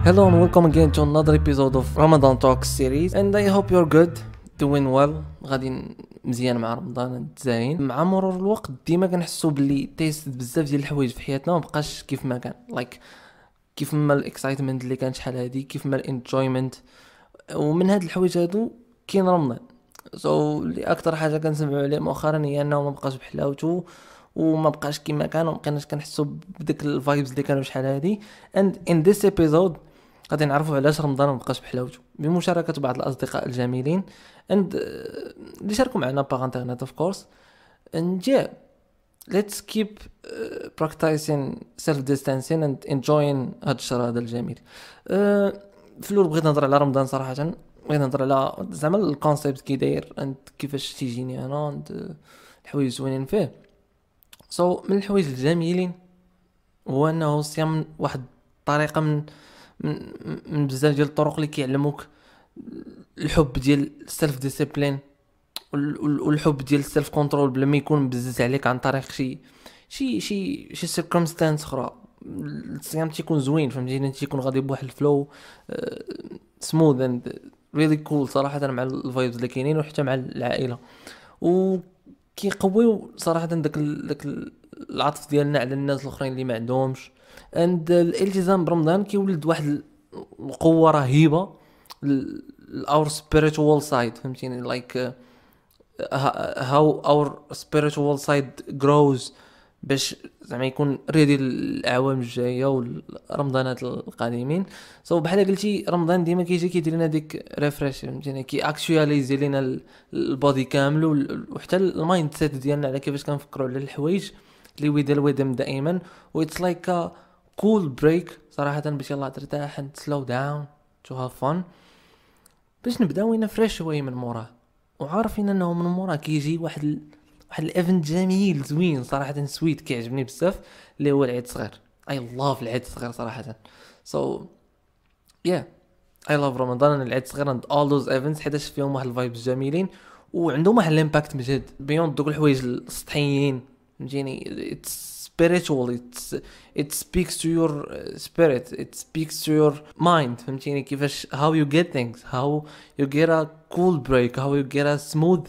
Hello and welcome again to another episode of Ramadan Talks series, and I hope you're good, doing well. غادي مزيان مع رمضان زاين. مع مرور الوقت ديما كنحسوا باللي تيست بزاف ديال الحوايج في حياتنا ما بقاش كيف ما كان، كيف ما الاكسايتمنت اللي كانت شحال هادي، كيف ما الانجويمنت. ومن هاد الحوايج هادو كاين رمضان. اللي اكثر حاجه كنسمعوا عليه مؤخرا هي انه ما بقاش بحلاوته وما بقاش كيما كان، وما بقيناش كنحسوا بديك الفايبز اللي كانوا شحال هادي. and in this episode غادي نعرفوا علاش رمضان ما بقاش بحلاوته بمشاركه بعض الاصدقاء الجميلين اللي شاركوا معنا باغ انترنت اوف كورس. and yeah, let's keep practicing self distancing and enjoying هاد الشهر هذا الجميل. في الاول بغيت نهضر على رمضان صراحه، بغيت نهضر على زعما الكونسيبت كي داير and كيفاش تيجيني انا الحوايج زوينين فيه. من الحوايج الجميلين هو انه الصيام واحد الطريقه من بزاف ديال الطرق اللي كيعلموك الحب ديال السيلف ديسيبلين والحب ديال السيلف كنترول بلا ما يكون بزز عليك عن طريق شي سيركمستانس اخرى. الصيام تيكون زوين، فهمتيني، تيكون غادي بواحد الفلو سموث اند ريلي كول صراحه مع الفايبز اللي كاينين وحتى مع العائله، وكيقويو صراحه داك العطف ديالنا على الناس الاخرين اللي ما عندهمش. اند الالتزام برمضان كيولد واحد القوه رهيبه our spiritual side، فهمتيني، how our spiritual side grows باش زعما يكون ريدي الاعوام الجايه والرمضانات القادمين. بحال قلتي رمضان ديما كيجي كيدير لنا ديك ريفريش، فهمتيني، كي اكشواليزي لينا البودي كامل وحتى المايند سيت ديالنا على كيفاش كنفكروا على الحوايج اللي ويدم دائما. وإتس لايك ا كول بريك صراحه باش يلا ترتاح and slow down to have fun، باش نبداو نفريش شويه من موراه، وعارفين انه من موراه كيجي واحد الايفنت جميل زوين صراحه، سويت كيعجبني بزاف، اللي هو العيد الصغير. اي لاف العيد الصغير صراحه. yeah, I love رمضان العيد الصغير and all those events، حيتاش فيهم واحد الفايبس جميلين وعندهم واحد الامباكت مجد بيوند دوك الحوايج السطحيين، فهمتيني. it's spiritual, it speaks to your spirit, it speaks to your mind، فهمتيني، كيفاش how you get things, how you get a cool break, how you get a smooth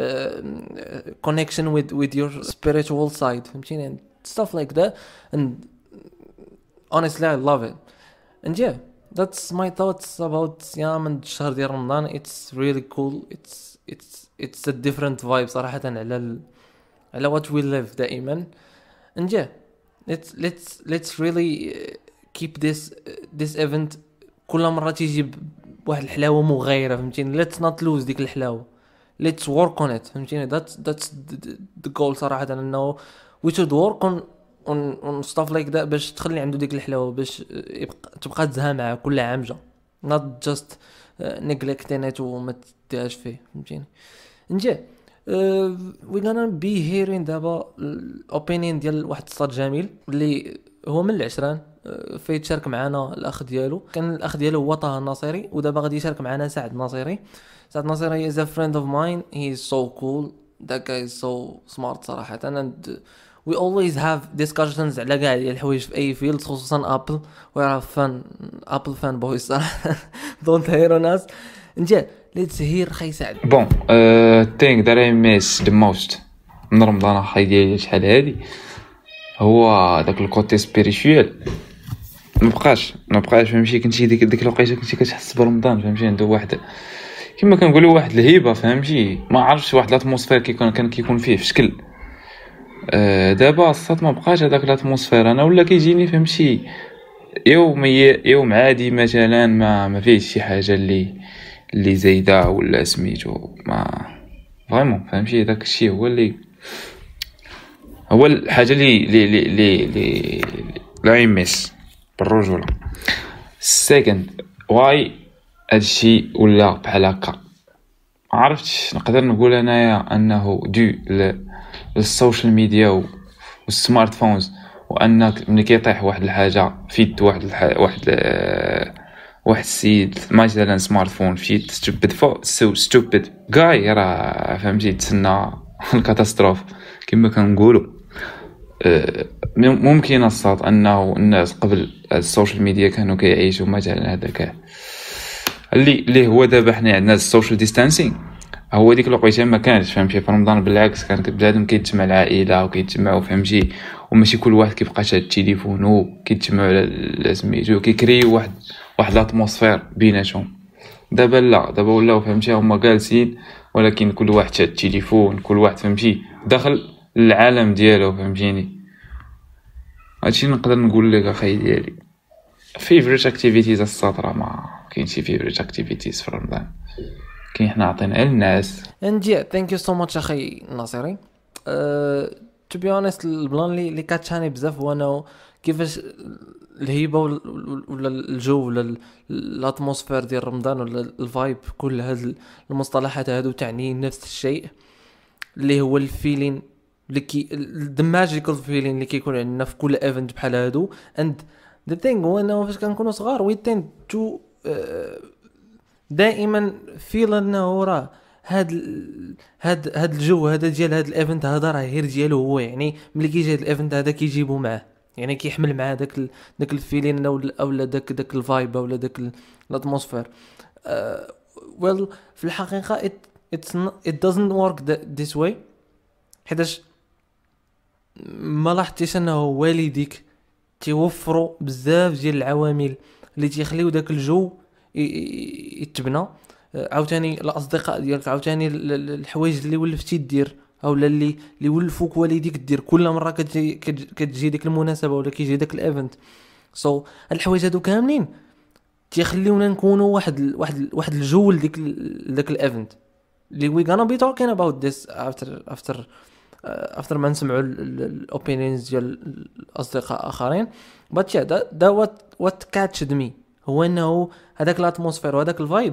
connection with your spiritual side، فهمتيني، and stuff like that. And honestly I love it. And yeah, that's my thoughts about صيام and الشهر ديال رمضان. It's really cool, it's a different vibe صراحة على what we live دائما. And yeah, let's really keep this event كل مرة تيجي بواحد الحلاوة مغايرة، فهمتيني. let's not lose ديك الحلاوة، let's work on it، فهمتيني. that's the goal صراحة، انه we should work on stuff like that باش تخلي عنده ديك الحلاوة، باش تبقى تزها معاه كل عام جا، not just neglecting it وما تديهاش فيه، فهمتيني. And yeah, we're gonna be hearing دابا opinion ديال واحد الصاد جميل اللي هو من العشران، فيه تشارك معنا الاخ ديالو. كان الاخ ديالو هو طه الناصري، ودابا غادي يشارك معنا سعد الناصري. سعد الناصري is a friend of mine, he is so cool, that guy is so smart صراحه. and we always have discussions على كاع الحوايج في اي فيلد، خصوصا ابل. we are fun apple fan boys صراحه. don't hate on us. نجي let's hear خي سعد. Bon, thing that I miss the most من رمضان خاي ديالي شحال هادي هو داك الكوتي سبيريتوال. ما بقاش فهمتي، كنتي ديك الوقيته كنتي كتحس برمضان، فهمتي، عنده واحد كما كنقولوا واحد الهيبه، فهمتي، ما عرفتش واحد الاتموسفير كيكون فيه في شكل. دابا الصات ما بقاش هذاك الاتموسفير، انا ولا كيجيني فهمتي يوم عادي مثلا ما فيهش شي حاجه اللي زايده ولا سميتو، ما فريمون فهمتي. داك الشيء هو الحاجه اللي لا يمس بالرجوله. سيكند واي هادشي ولا بحال هكا، ما عرفتش نقدر نقول انايا انه دو للسوشيال ميديا والسمارت فونز، وانك ملي كيطيح واحد الحاجه فيت واحد السيد مثلا سمارت فون فيت ستوبيد جاي، راه فهمتي تسنى الكاتاستروف كما كنقولوا. ممكن الصوت انه الناس قبل السوشيال ميديا كانوا كيعيشوا مثلا هذا كاع اللي هو دابا حنا عندنا السوشيال ديستانسينغ. هو ديك الوقيته ما كانش فهمتي في رمضان، بالعكس كان بنادم كيتجمع العائله وكيتجمعوا فهمتي، وماشي كل واحد كيبقى شاد التليفون وكيتجمعوا على سميتو كيكريو واحد الاتموسفير بيناتهم. دابا لا، دابا ولاو فهمتي هما جالسين ولكن كل واحد شاد التليفون، كل واحد فهمتي داخل العالم ديالو فهمتيني. هادشي نقدر نقول لك اخاي ديالي فيفريت اكتيفيتيز السطرة. ما كاينش شي فيفريت اكتيفيتيز في رمضان، كاين حنا عطينا الناس. and yeah thank you so much اخي ناصري. to be honest البلان اللي كاتشاني بزاف هو انه كيفاش الهيبه ولا الجو ولا الاتموسفير ديال رمضان ولا الفايب، كل هاد المصطلحات هادو تعني نفس الشيء اللي هو الفيلين اللي the magical feeling اللي كيكون عندنا في كل ايفنت بحال هادو. and the thing هو انه فاش كنكونوا صغار we tend to دائما فيل انه راه هاد الجو هذا ديال هاد الايفنت هذا راه غير ديالو هو، يعني ملي كيجي هاد الايفنت هذا كيجيبو معاه، يعني كيحمل معاه داك الفيلين اولا داك الفايب اولا داك الاتموسفير. well في الحقيقه it doesn't work this way، حيتاش ما لاحظتيش انه والديك تيوفروا بزاف ديال العوامل اللي تيخليو داك الجو يتبنى. عاوتاني الاصدقاء ديالك، عاوتاني الحوايج اللي ولفتي دير اولا اللي ولفوك والديك دير كل مره كتجي ديك المناسبه ولا كيجي داك الايفنت. سو الحوايج هادو كاملين تيخليونا نكونوا واحد الجو لداك الايفنت اللي we gonna be talking about this after ما نسمعوا الاوبينيونز ديال الاصدقاء اخرين. but yeah that what catched me هو انه هذاك الاتموسفير وهذاك الفايب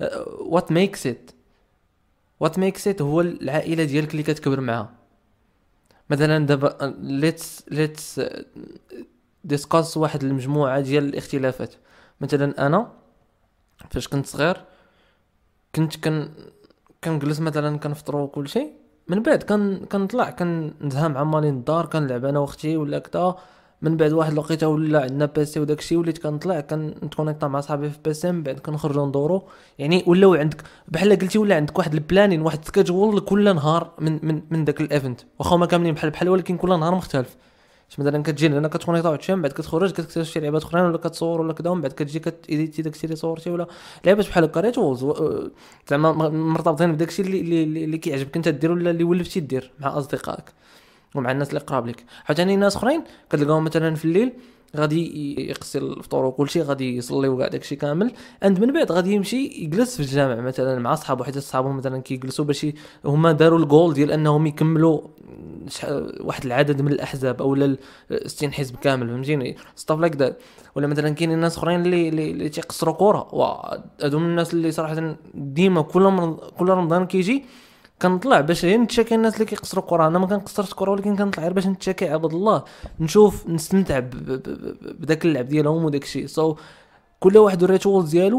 what makes it هو العائله ديالك اللي كتكبر معها. مثلا دابا let's discuss واحد المجموعه ديال الاختلافات. مثلا انا فاش كنت صغير كنت كنجلس مثلا كنفطروا وكل شيء، من بعد كنطلع كنزها مع مالين الدار كنلعب انا واختي ولا كذا. من بعد واحد الوقيته ولا عندنا بيسي وداكشي وليت كنطلع كنتكونيكطا مع صحابي في بيسي، من بعد كنخرجوا ندورو. يعني ولاو عندك بحال قلتي ولا عندك واحد البلانين، واحد سكيدجول كل نهار من داك الايفنت، واخا ما كاملين بحال ولكن كل نهار مختلف. مثلا كتجي لنا كتكونيكطا واحد الشيء، من بعد كتخرج كتكتشف شي لعبات اخرين ولا كتصور ولا كذا، من بعد كتجي كتيديتي داكشي اللي صورتي ولا لعبات بحال هكا ريتولز زعما مرتبطين بداكشي اللي كيعجبك انت دير ولا اللي ولفتي دير مع اصدقائك ومع الناس اللي قراب لك. عاوتاني ناس اخرين كتلقاهم مثلا في الليل غادي يقصي الفطور وكل شيء، غادي يصلي وكاع داكشي كامل، عند من بعد غادي يمشي يجلس في الجامع مثلا مع صحابو، حيت صحابو مثلا كيجلسوا باش هما داروا الجول ديال انهم يكملوا واحد العدد من الاحزاب او 60 حزب كامل، فهمتيني ستاف لايك ذات. ولا مثلا كاينين ناس اخرين اللي تيقصروا كره، وهادو من الناس اللي صراحه ديما كل رمضان كيجي كنطلع باش نتشاكي الناس اللي كيقصروا كره. انا ما كنقصرش كره ولكن كنطلع غير باش نتشاكي عباد الله، نشوف نستمتع بداك اللعب ديالهم وداك الشيء. كل واحد الريتولز ديالو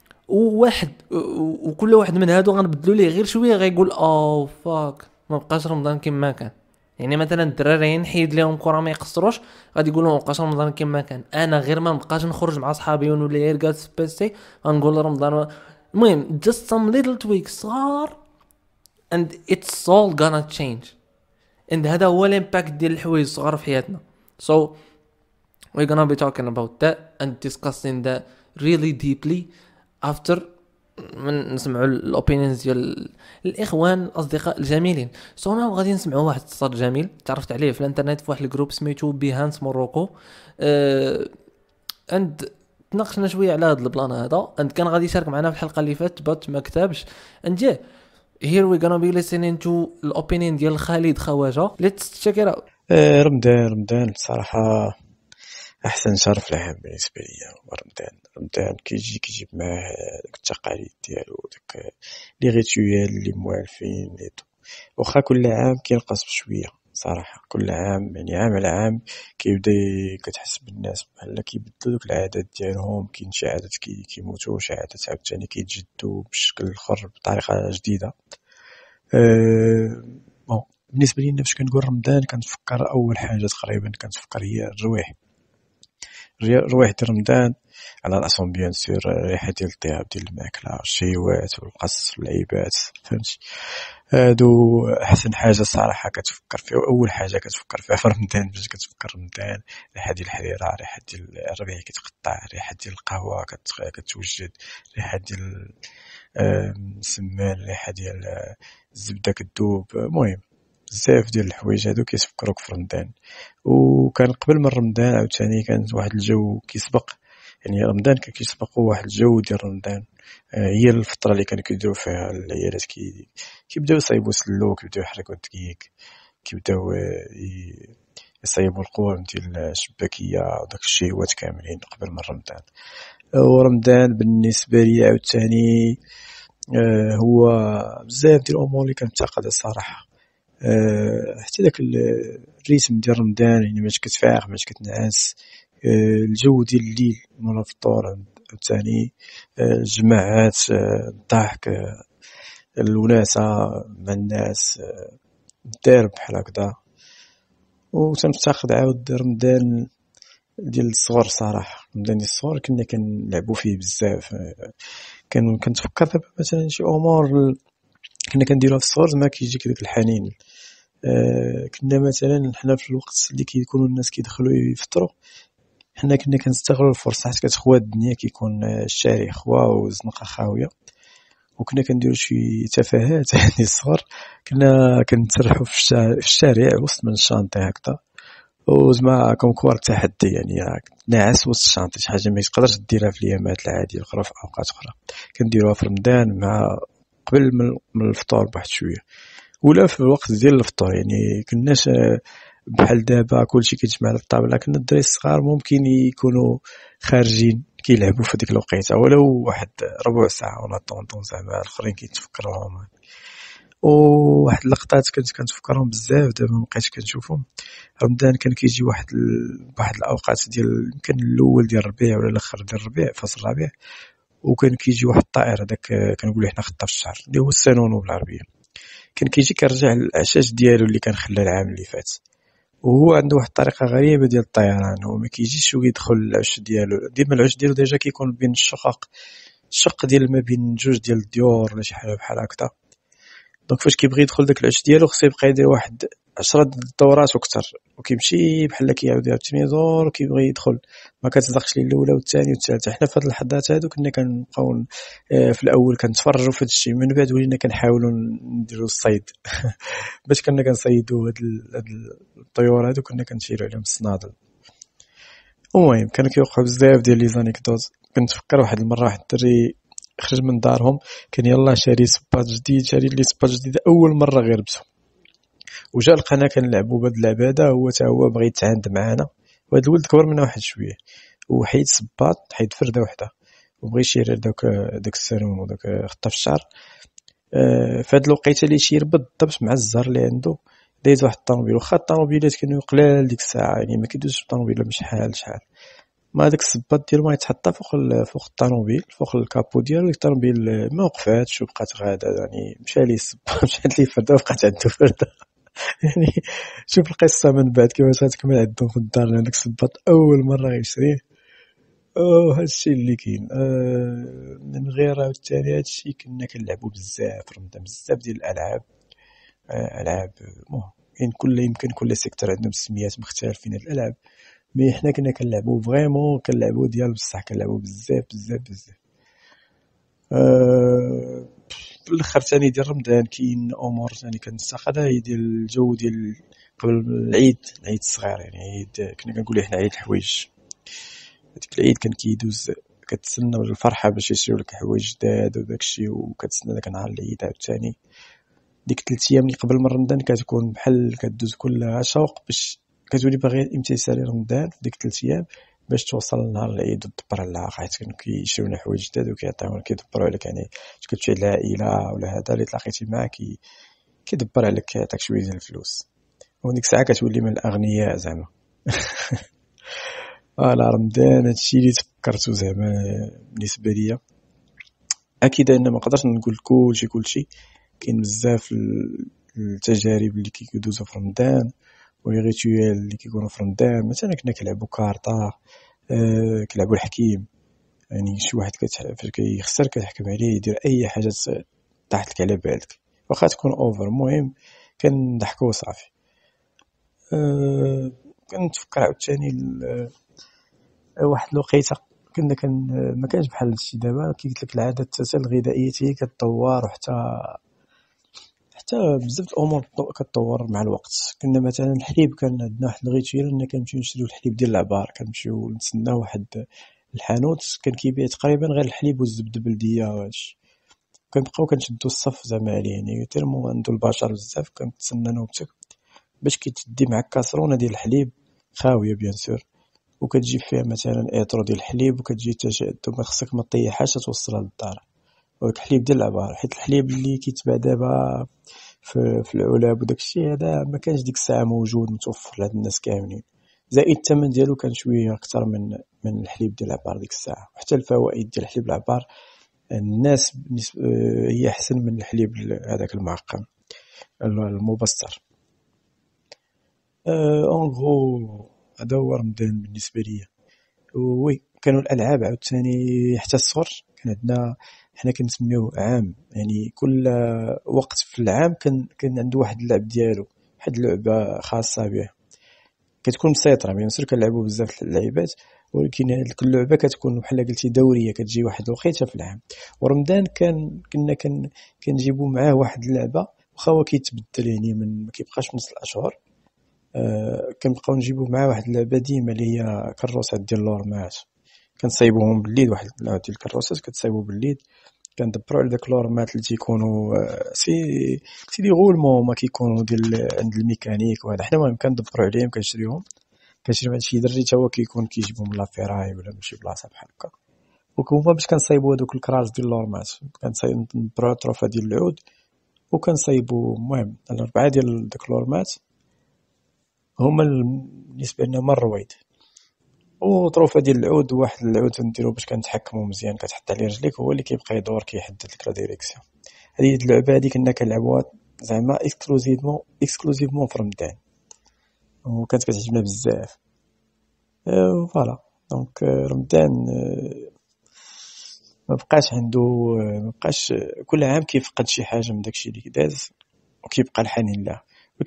وكل واحد من هادو غنبدلوا ليه غير شويه غيقول فاك ما بقاش رمضان كما كان. يعني مثلا الدراري نحيد لهم كره ما يقصروش غادي يقولوا ما بقاش رمضان كما كان. انا غير ما نبقاش نخرج مع صحابي ولا غير جالس في بيسي غنقول رمضان. المهم just some little tweaks صغار and it's all gonna change. and هذا هو الامباكت ديال الحوايج الصغار في حياتنا. so we're gonna be talking about that and discussing that really deeply after من نسمعوا الاوبينيونز ديال الاخوان الاصدقاء الجميلين. انا غادي نسمعوا واحد الصوت جميل تعرفت عليه في الانترنت في واحد الجروب سميتو بيهانس موروكو. and تناقشنا شويه على هذا البلان هذا، and كان غادي يشارك معنا في الحلقه اللي فاتت بات ما كتبش. and yeah here we're gonna be listening to الopinion ديال خالد خواجه. let's check it out. رمضان بصراحة أحسن شهر في العام بالنسبة لي. رمضان كيجيب معاه داك التقاليد ديالو، داك لي ريتويال اللي موالفين واخا كل عام كينقص بشوية صراحة. كل عام يعني عام على عام كيبدا كتحس بالناس بحال كيبدلوا دوك العادات ديالهم. كاين شي عادات كيموتوا، شي عادات عاوتاني كيتجدوا بشكل اخر بطريقة جديدة. بالنسبه لي فاش كنقول رمضان كنتفكر اول حاجه تقريبا كنتفكر هي الرواح. الرواح ديال رمضان على راسهم بيان سور الريحه ديال الطياب ديال الماكله والشيوات والقص واللعيبات، فهمتي؟ هادو احسن حاجه صراحه كتفكر فيها، واول حاجه كتفكر فيها في رمضان. باش كتفكر رمضان الريحه ديال الحريره، الريحه ديال الربيع كيتقطع، الريحه ديال القهوه كتوجد، الريحه ديال السمان، الريحه ديال الزبده كتذوب. المهم بزاف ديال الحوايج هادو كيتفكروك في رمضان. وكان قبل من رمضان عاوتاني كان واحد الجو كيسبق، يعني رمضان كان كيسبق واحد الجو ديال رمضان. هي الفتره اللي كانوا كيديروا فيها العيالات كيبداو يصايبوا سلو، كيبداو يحركوا الدقيق، كيبداو يصايبوا القوام ديال الشباكيه وداك الشيوات كاملين قبل من رمضان. ورمضان بالنسبه لي عاوتاني هو بزاف ديال الامور اللي كنتقدها صراحه. حتى داك الريتم ديال رمضان، يعني باش كتفاق باش كتنعس، الجو ديال الليل مورا الفطور عاوتاني، الجماعات، الضحك، الوناسه مع الناس، الدرب بحال هكذا. وتنفتقد عاود رمضان ديال الصغر صراحه. رمضان ديال الصغر كنا كنلعبوا فيه بزاف. كنتفكر دابا مثلا شي امور كنا كنديروها في الصغر ما كيجيك داك الحنين. كنا مثلا حنا في الوقت اللي كيكونوا الناس كيدخلوا يفطروا، حنا كنا كنستغلوا الفرصه حيت كتخوى الدنيا، كيكون الشارع خوا والزنقه خاويه، وكنا كنديروا شي تفاهات يعني الصغر. كنا كنتسرحوا في الشارع وسط من الشانطي هكذا، وزعما كونكور التحدي، يعني ناعس وسط الشانطي، شي حاجه ما تقدرش ديرها في الايامات العاديه الاخرى في اوقات اخرى. كنديروها في رمضان مع قبل من الفطور بواحد شويه، ولا في الوقت ديال الفطور. يعني كناش بحال دابا كلشي كيتجمع على الطابله. كنا الدراري الصغار ممكن يكونوا خارجين كيلعبوا في ديك الوقيته ولو واحد ربع ساعه ولا طونطون، زعما الاخرين كيتفكروهم. وواحد اللقطات كنت كنتفكرهم بزاف دابا مابقيتش كنشوفهم. رمضان كان كيجي واحد الاوقات ديال يمكن الاول ديال الربيع ولا الاخر ديال الربيع، فصل الربيع، وكان كيجي واحد الطائر هذاك كنقولوا حنا خطاف الشهر اللي هو السانونو بالعربيه. كان كيجي كيرجع العشاش ديالو اللي كان خلى العام اللي فات، وهو عنده واحد الطريقه غريبه ديال الطيران. هو ما كيجيش ويدخل العش ديالو، ديما العش ديالو ديجا كيكون بين الشق ديال ما بين جوج ديال الديور ولا شي حاجه بحال هكذا. دونك فاش كيبغي يدخل داك العش ديالو خصو يبقى يدير واحد 10 دورات وكثر، وكيمشي بحال كيعاود يعاوتاني يدور وكيبغي يدخل، ما كتصدقش ليه الاولى والثانيه والثالثه. حنا في هاد اللحظات هادو كنا كنبقاو في الاول كنتفرجوا في هاد الشيء، من بعد ولينا كنحاولوا نديروا الصيد باش كنا كنصيدوا هاد الطيور هادو، كنا كنشيروا عليهم الصنادل. المهم كانوا كيوقعوا بزاف ديال لي زانيكدوت. كنتفكر واحد المره واحد الدري خرج من دارهم، كان يلاه شاري سباط جديد، شاري لي سباط جديد اول مره غير بسو، وجا لقانا كنلعبوا بهاد اللعبه هذا. هو بغى يتعاند معانا، وهاد الولد كبر منا واحد شويه، وحيد سباط، حيد فرده وحده، وبغى يشير داك السالون وداك خطاف الشعر. فهاد الوقيته اللي يشير بالضبط مع الزهر اللي عنده دايز واحد الطوموبيل. واخا الطوموبيلات كانوا قلال ديك الساعه، يعني ما كيدوزش الطوموبيل شحال ما داك السباط ديالو ما يتحط فوق الطوموبيل، فوق الكابو ديالو. الطوموبيل ما وقفاتش وبقات غاده، يعني مشى ليه السباط مشات ليه فرده وبقات عنده فرده يعني شوف القصه من بعد كيفاش غتكمل عندهم في الدار. هذاك السباط اول مره غيشريه. هادشي اللي كاين. من غير عاوتاني هادشي كنا كنلعبوا بزاف في رمضان، بزاف ديال الالعاب. يمكن كل سيكتور عندهم سميات مختلفين هاد الالعاب، مي حنا كنا كنلعبوا فريمون، كنلعبوا ديال بصح، كنلعبوا بزاف بزاف بزاف. في الاخر ثاني ديال رمضان كاين امور ثاني كنستقدها، هي ديال الجو ديال قبل العيد الصغير. يعني عيد كنا كنقولوا حنا عيد الحوايج. هذيك العيد كان كيدوز كتسنى بالفرحه باش يشريو لك حوايج جداد وداكشي، وكتسنى داك نهار العيد عاوتاني. ديك 3 ايام اللي قبل من رمضان كتكون بحال كدوز كلها شوق، باش كتولي باغي امتثال رمضان في ديك 3 ايام باش توصل لنهار العيد وتدبر على العاقل، حيت كانوا كيشريو لنا حوايج جداد وكيعطيونا كيدبروا عليك. يعني اش كتمشي العائله ولا هذا اللي تلاقيتي معاه كيدبر عليك، كيعطيك شويه ديال الفلوس، وديك الساعه كتولي من الاغنياء زعما على رمضان. هادشي اللي تفكرته زعما بالنسبه ليا. اكيد انا ما نقدرش نقول كلشي، كاين بزاف التجارب اللي كيدوزو في رمضان ولي ريتويال اللي كيكونوا في رمضان. مثلا كنا كنلعبوا كارطه، كنلعبوا الحكيم، يعني شي واحد فاش كيخسر كتحكم عليه يدير اي حاجه طاحت لك على بالك واخا تكون اوفر، المهم كنضحكوا وصافي. كنتفكر عاوتاني واحد الوقيته كنا ما كانش بحال هادشي دابا، كي قلت لك العادات الغذائيه هي كتطور، حتى بزاف الامور كتطور مع الوقت. كنا مثلا الحليب كان عندنا واحد الغيتويال ان كنمشيو نشريو الحليب ديال العبار، كنمشيو نتسناو واحد الحانوت كان كيبيع تقريبا غير الحليب والزبده البلديه وهادشي، كنبقاو كنشدو الصف زعما عليه، يعني تيرمو عندو البشر بزاف. كنتسنى نوبتك باش كيتدي معاك كاسرونه ديال الحليب خاويه بيان سور، وكتجيب فيها مثلا ايطرو ديال الحليب، وكتجي ما خصك ما طيحهاش توصلها للدار. وداك الحليب ديال العبار، حيت الحليب اللي كيتباع دابا في العلب وداكشي هذا ما كانش ديك الساعه موجود متوفر لهاد الناس كاملين، زائد الثمن ديالو كان شويه اكثر من الحليب ديال العبار ديك الساعه. وحتى الفوائد ديال الحليب العبار الناس هي احسن من الحليب هذاك المعقم المبستر. اون غرو هذا هو رمضان بالنسبه ليا. وي كانوا الالعاب عاوتاني حتى الصغر كان عندنا، حنا كنسميوه عام، يعني كل وقت في العام كان عنده واحد اللعب ديالو، واحد اللعبه خاصه به كتكون مسيطره. بيان سور كنلعبوا بزاف اللعيبات، ولكن كل لعبه كتكون بحال قلتي دوريه، كتجي واحد الوقيته في العام. ورمضان كنا كنجيبوا معاه واحد اللعبه واخا هو كيتبدل، يعني ما كيبقاش نص الاشهر. كنبقاو نجيبوا معاه واحد اللعبه ديما اللي هي كروسات ديال لورمات، كنصايبوهم بالليل، واحد ديال الكروسات كتصايبوا بالليل، كندبروا على داك لورمات اللي تيكونوا سي دي غولمون ما كيكونوا ديال عند الميكانيك وهذا. حنا المهم كندبروا عليهم كنشريهم، كنشري شي دري حتى هو كيكون كيجيبهم من لافيراي ولا من شي بلاصه بحال هكا. وكما باش كنصايبوا هذوك الكراس ديال لورمات كنصايبوا طروفه ديال العود، وكنصايبوا المهم 4 ديال داك لورمات هما بالنسبه لنا مرويد، وطروفه ديال العود واحد العود نديرو باش كنتحكموا مزيان، كتحط عليه رجليك هو اللي كيبقى يدور كيحدد لك لا ديريكسيون. هذه اللعبه هذه كنا كنلعبوها زعما اكسكلوزيفمون في رمضان، وكانت كتعجبنا بزاف. فوالا دونك رمضان ما بقاش كل عام كيفقد شي حاجه من داكشي اللي داز، وكيبقى الحنين له.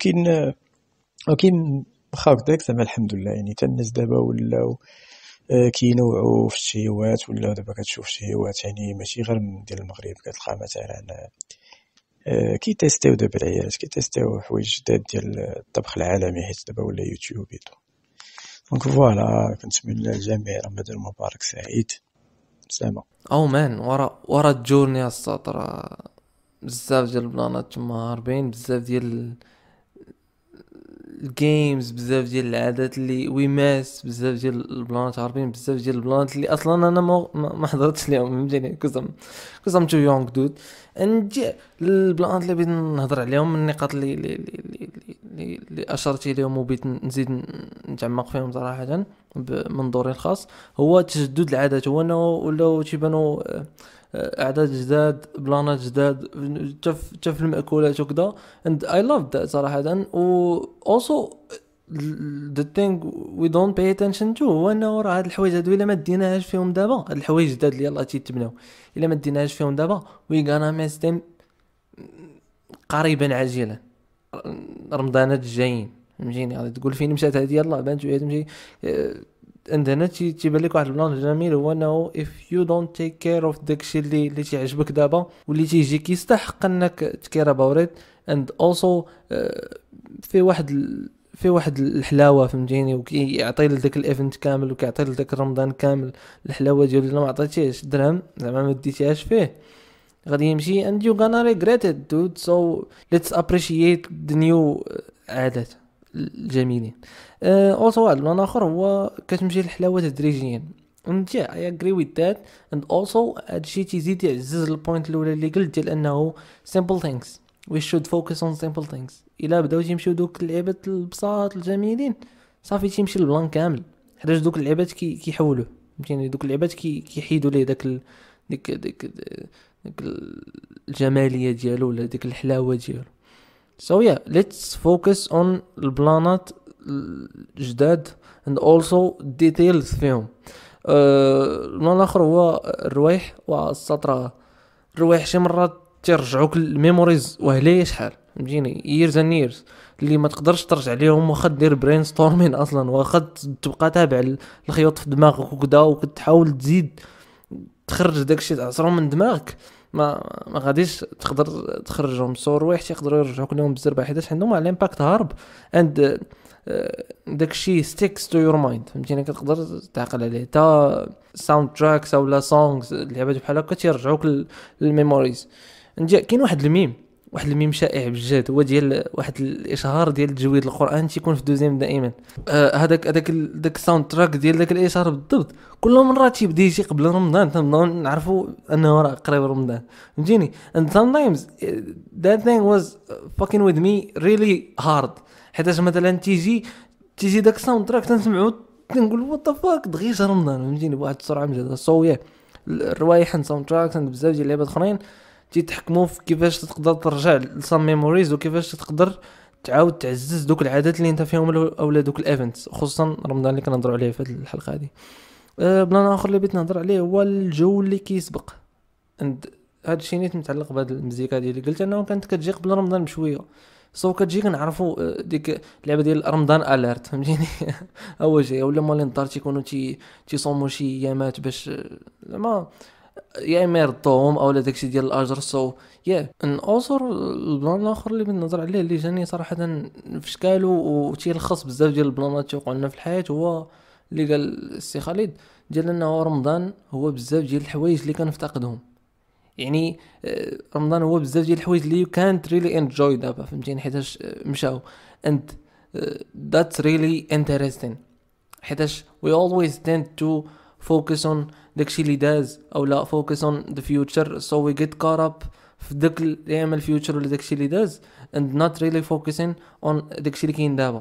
ولكن واخا هكداك زعما الحمد لله، يعني حتى الناس دابا ولاو كينوعوا في الشهيوات، ولا دابا كتشوف شهيوات يعني ماشي غير من ديال المغرب، كتلقى مثلا كيتيستيو دابا العيالات كيتيستيو حوايج جداد ديال الطبخ العالمي، حيت دابا ولا يوتيوب ايتو. دونك فوالا كنتمنى للجميع رمضان مبارك سعيد. سلامة. او مان ورا الجورني السطر بزاف ديال البلانات تما هاربين، بزاف ديال الجيمز، بزاف ديال العادات اللي ويماس، بزاف ديال البلانات هاربين، بزاف ديال البلانات اللي اصلا انا ما حضرتش ليهم، فهمتيني. كوزام تو يونغ دود نجي البلانات اللي بغيت نهضر عليهم، من النقاط اللي اشرتي لهم وبغيت نزيد نتعمق فيهم صراحه بمنظوري الخاص، هو تجدد العادات. هو انه ولاو تيبانوا اعداد جداد، بلانات جداد حتى في المأكولات وكذا. and I love that صراحه. و also the thing we don't pay attention to هو انه راه هاد الحوايج هادو الا ما ديناهاش فيهم دابا، هاد الحوايج الجداد اللي يلاه تيتبناو الا ما ديناهاش فيهم دابا we gonna miss them قريبا عاجلا. رمضانات الجايين فهمتيني، غادي تقول فين مشات هادي، يلاه بانت شويه تمشي عندنا تيبان لك واحد البلان جميل، هو انه if you don't take care of داكشي اللي تيعجبك دابا واللي تيجيك يستحق انك تكير about it. and also في واحد الحلاوه فهمتيني، وكيعطي لك الايفنت كامل، وكيعطي لك رمضان كامل الحلاوه ديالو. الا ما عطيتيهش درهم زعما ما ديتيهاش فيه غادي يمشي and you gonna regret it dude. so let's appreciate the new عادات الجميلين. also واحد البلان اخر هو كتمشي الحلاوه تدريجيا. انت I agree with that. and also هادشي تيزيد يعزز البوينت الاولى اللي قلت ديال انه simple things we should focus on simple things. الا بداو تيمشيو دوك اللعيبات البساط الجميلين صافي تيمشي البلان كامل، حيت دوك اللعيبات كيحولوا فهمتيني، دوك اللعيبات كيحيدوا ليه ديك الجماليه ديالو ولا ديك الحلاوه ديالو. So yeah, let's focus on البلانات الجداد and also details فيهم. البلان الاخر هو الروايح والسطرة. الروايح شي مرات ترجعوك الميموريز وهليه شحال فهمتيني years and years اللي ما تقدرش ترجع ليهم واخا دير برين ستورمين اصلا واخا تبقى تابع الخيوط في دماغك وكذا وكتحاول تزيد تخرج داكشي تعصرهم من دماغك ما غاديش تقدر تخرجهم. سو روايح يقدروا يرجعوك لهم بزربه حيت عندهم على الامباكت هارب اند داكشي ستيكس تو يور مايند فهمتيني كتقدر تعقل عليه تا ساوند تراكس اولا سونغز لعبات بحال هكا تيرجعوك للميموريز. كاين واحد الميم شائع بجد هو ديال واحد الاشهار ديال تجويد القران تيكون في دوزيام دائما. هذاك داك الساوند تراك ديال داك الاشهار بالضبط كل مره تيبدا يجي قبل رمضان تنبداو نعرفوا انه راه قريب رمضان فهمتيني. and sometimes that thing was fucking with me really hard حيت مثلا تيجي داك الساوند تراك تنسمعو تنقول وات ذا فاك دغيا جا رمضان فهمتيني بواحد السرعه مجهده. سو الروايح ساوند تراكس بزاف ديال اللعبات اخرين تيتحكموا في كيفاش تقدر ترجع لسام ميموريز وكيفاش تقدر تعاود تعزز دوك العادات اللي انت فيهم اولا دوك الايفنتس خصوصا رمضان اللي كنهضروا عليه في هذه الحلقه هذه. بلان اخر اللي بغيت نهضر عليه هو الجو اللي كيسبق عند هذا الشيء نيت متعلق بهذه المزيكا ديالي. قلت انه كانت كتجي قبل رمضان بشويه سو كتجي كنعرفوا ديك اللعبه ديال رمضان اليرت فهمتيني اول شيء ولا مالين الدار تيكونوا تصوموا شي ايامات باش زعما يا اما يرضوهم اولا داكشي ديال الاجر. سو يا ان اوصر البلان الاخر اللي بنظر عليه اللي جاني صراحه في شكاله وتيلخص بزاف ديال البلانات توقعوا لنا في الحياه هو اللي قال السي خالد ديال انه رمضان هو بزاف ديال الحوايج اللي كنفتقدهم. يعني رمضان هو بزاف ديال الحوايج اللي كانت ريلي انجوي دابا فهمتيني حيتاش مشاو and that's really interesting حيتاش we always tend to focus on داكشي اللي داز او لا focus on the future so we get caught up في داك الايام الفيوتشر ولا داكشي اللي داز and not really focusing on داكشي اللي كاين دابا.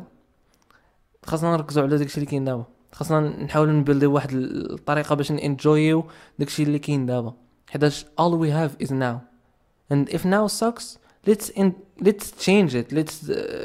خاصنا نركزوا على داكشي اللي كاين دابا خاصنا نحاولوا نبلدوا واحد الطريقه باش نانجويو داكشي اللي كاين دابا حيتاش all we have is now and if now sucks let's change it let's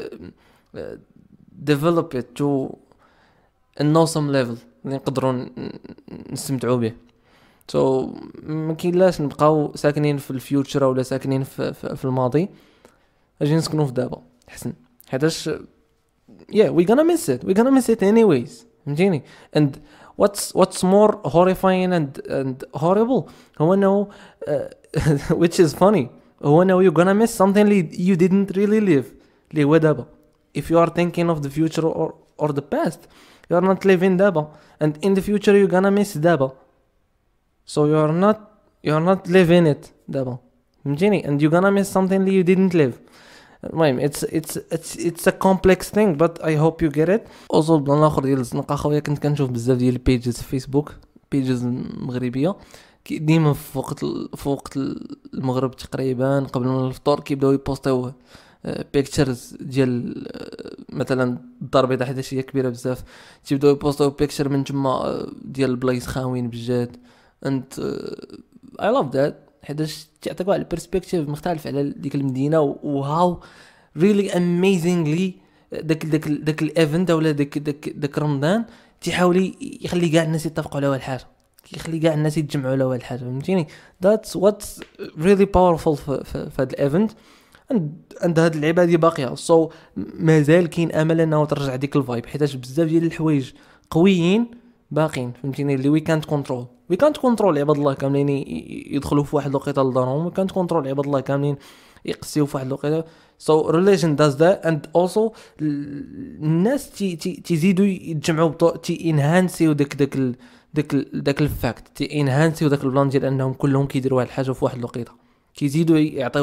develop it to an awesome level اللي نقدروا نستمتعوا به. سو ما كاينلاش نبقاو ساكنين في الفيوتشر ولا ساكنين في الماضي اجي نسكنوا في دابا احسن حيتاش we're gonna miss it anyways فهمتيني. and what's more horrifying and horrible هو انه which is funny هو انه you're gonna miss something you didn't really live اللي هو دابا. if you are thinking of the future or the past you are not living دابا and in the future you're gonna miss دابا so you're not living it دابا فهمتيني and you're gonna miss something you didn't live. المهم it's a complex thing but I hope you get it. also بلان اخر ديال الزنقه خويا كنت كنشوف بزاف ديال البيجز في فيسبوك بيجز مغربيه ديما في وقت المغرب تقريبا قبل من الفطور كيبداو يبوستيو بيكتشرز ديال مثلا الدار البيضاء حيت هي كبيره بزاف تيبداو يبوستيو بيكتشر من تما ديال البلايص خاويين بجد and I love that حيتاش تعطيك واحد البيرسبكتيف مختلف على ديك المدينه وهاو ريلي اميزينغلي داك الايفنت ولا داك رمضان تيحاول يخلي كاع الناس يتفقوا على واحد الحاجه يخلي كاع الناس يتجمعوا على واحد الحاجه فهمتيني. that's what's really powerful في هذا الايفنت عند هاد اللعبه هذه باقيه. سو مازال كاين امل انه ترجع ديك الفايب حيتاش بزاف ديال الحوايج قويين باقين فهمتيني اللي وي كانت كنترول عباد الله كاملين يدخلوا في واحد الوقيته لدارهم وي كانت كنترول عباد الله كاملين يقسيو في واحد الوقيته. so religion does that and also الناس تزيدوا يتجمعوا انهانسيو داك الفاكت انهانسيو داك البلان ديال انهم كلهم كيديروا واحد الحاجه في واحد الوقيته كيزيدوا يعطيو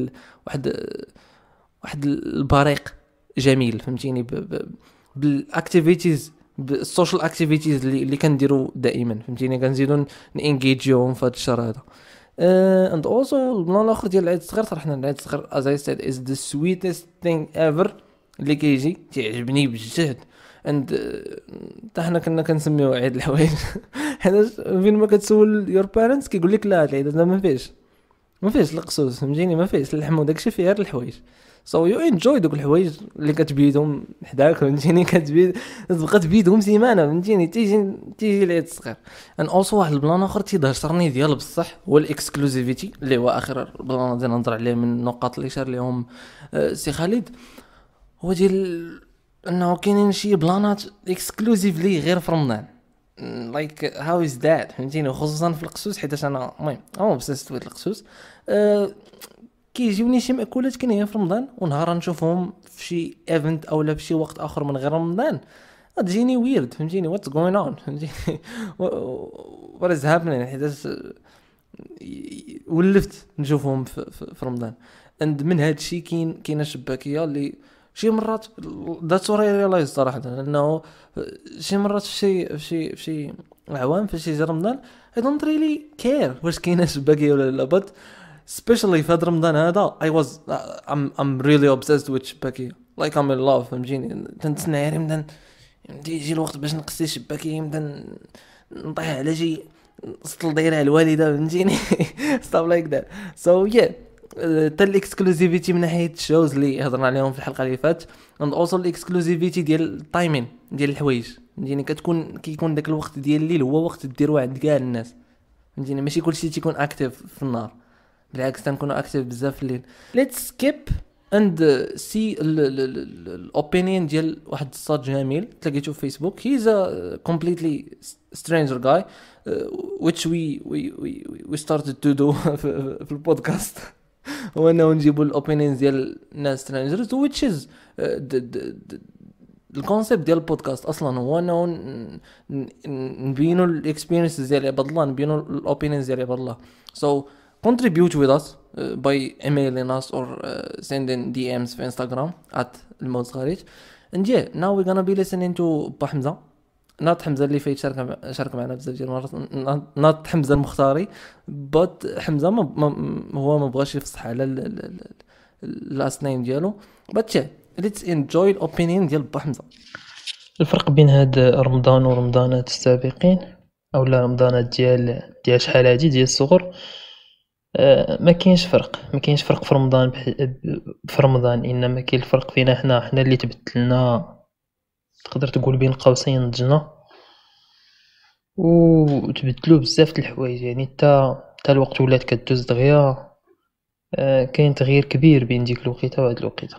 واحد البريق جميل فهمتيني بالاكتيفيتيز بالسوشيال اكتيفيتيز اللي كنديروا دائما فهمتيني كنزيدوا نانجيجيوهم في هذا الشهر هذا. and also البلان الاخر ديال العيد الصغير صراحه العيد الصغير as I said is the sweetest thing ever اللي كيجي تعجبني بجد and حتى حنا كنا كنسميوه عيد الحوايج حنا فين ما كتسول your parents كيقول لك لا العيد هذا ما فيش القصوص فهمتيني ما فيش اللحم وداكشي فيه غير الحوايج. سو يو انجوي دوك الحوايج اللي كتبيدهم حداك فهمتيني كتبيد تبقى تبيدهم سيمانه فهمتيني تيجي العيد الصغير. ان اولسو واحد البلان اخر تيهضرني ديال بصح هو الاكسكلوزيفيتي اللي هو اخر بلان غادي نهضر عليه من النقاط اللي شار لهم سي خالد. هو ديال انه كاينين شي بلانات اكسكلوزيفلي غير في رمضان لايك هاو از ذات فهمتيني خصوصا في القسوس حيت انا المهم بسست القسوس كيجيوني شي مأكولات كاينين في رمضان ونهار نشوفهم في شي ايفنت او لا في شي وقت اخر من غير رمضان غتجيني ويرد فهمتيني واتس جوين اون فهمتيني وات از هابينين حيت ولفت نشوفهم في رمضان. اند من هاد الشيء كاينه شباكيه اللي شي مرات ذاتس وري ريلايز صراحه انه شي مرات في شي عوام في شي رمضان I don't really care واش كاينه شباكيه ولا لا but especially في هذا رمضان هذا I'm really obsessed with شباكيه like I'm in love فهمتيني تنتسنى رمضان يجي الوقت باش نقصي شباكيه يمدن نطيح على شي سطل دايره الوالده فهمتيني stuff like that so yeah تا الاكسكلوزيفيتي من ناحيه الشوز اللي هضرنا عليهم في الحلقه اللي فاتت and also الاكسكلوزيفيتي ديال التايمين ديال الحوايج فهمتيني كيكون داك الوقت ديال الليل هو وقت ديروا عند كاع الناس فهمتيني ماشي كلشي تيكون اكتيف في النهار بالعكس تنكونوا اكتيف بزاف في الليل. let's skip and see الاوبينيون ديال واحد الصاد جميل تلاقيته في فيسبوك he's a completely stranger guy which we started to do في البودكاست هو انه نجيبوا الاوبينيونز ديال الناس سترينجرز which is الكونسيبت ديال البودكاست اصلا هو انه نبينوا الاكسبيرينسز ديال عباد الله نبينوا الاوبينيونز ديال عباد الله so contribute with us by emailing us or sending DMs في Instagram @الموزغاريج and yeah now we're gonna be listening to با حمزة not حمزة اللي فايت شارك معنا بزاف ديال المرات not حمزة المختاري but حمزة هو ما بغاش يفصح على last name ديالو but yeah let's enjoy opinion ديال با حمزة. الفرق بين هاد رمضان ورمضانات السابقين او لا رمضانات ديال شحال هادي ديال الصغر ما كاينش فرق في رمضان انما كاين الفرق فينا حنا اللي تبدلنا تقدر تقول بين قوسين ضجنا وتبدلوا بزاف د الحوايج يعني حتى الوقت ولات كدوز دغيا كاين تغيير كبير بين ديك الوقيته وهاد الوقيته.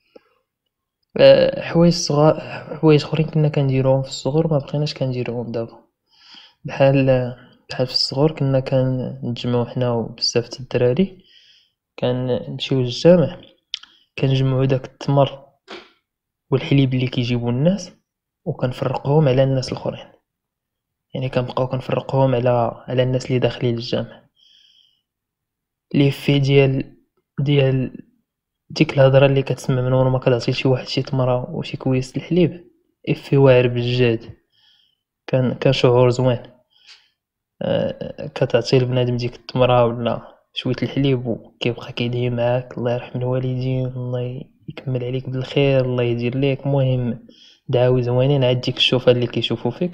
حوايج اخرين كنا كنديروهم في الصغر ما بقيناش كنديروهم دابا بحال في الصغر كنا كنتجمعوا حنا وبزاف د الدراري كنمشيو للجامع كنجمعوا داك التمر والحليب اللي كيجيبوا الناس وكنفرقوهم على الناس الاخرين يعني كنبقاو كنفرقوهم على الناس اللي داخلين للجامع لي في ديال ديك الهضره اللي كتسمع من ورا ما كتعطي شي واحد شي تمره وشي كويس الحليب افي واعر بالجاد كان شعور زوين كتعطي لبنادم ديك التمره ولا شويه الحليب وكيبقى كيدعي معاك الله يرحم الوالدين الله يكمل عليك بالخير الله يدير ليك مهم دعاوي زوينين عاد ديك الشوفه اللي كيشوفوا فيك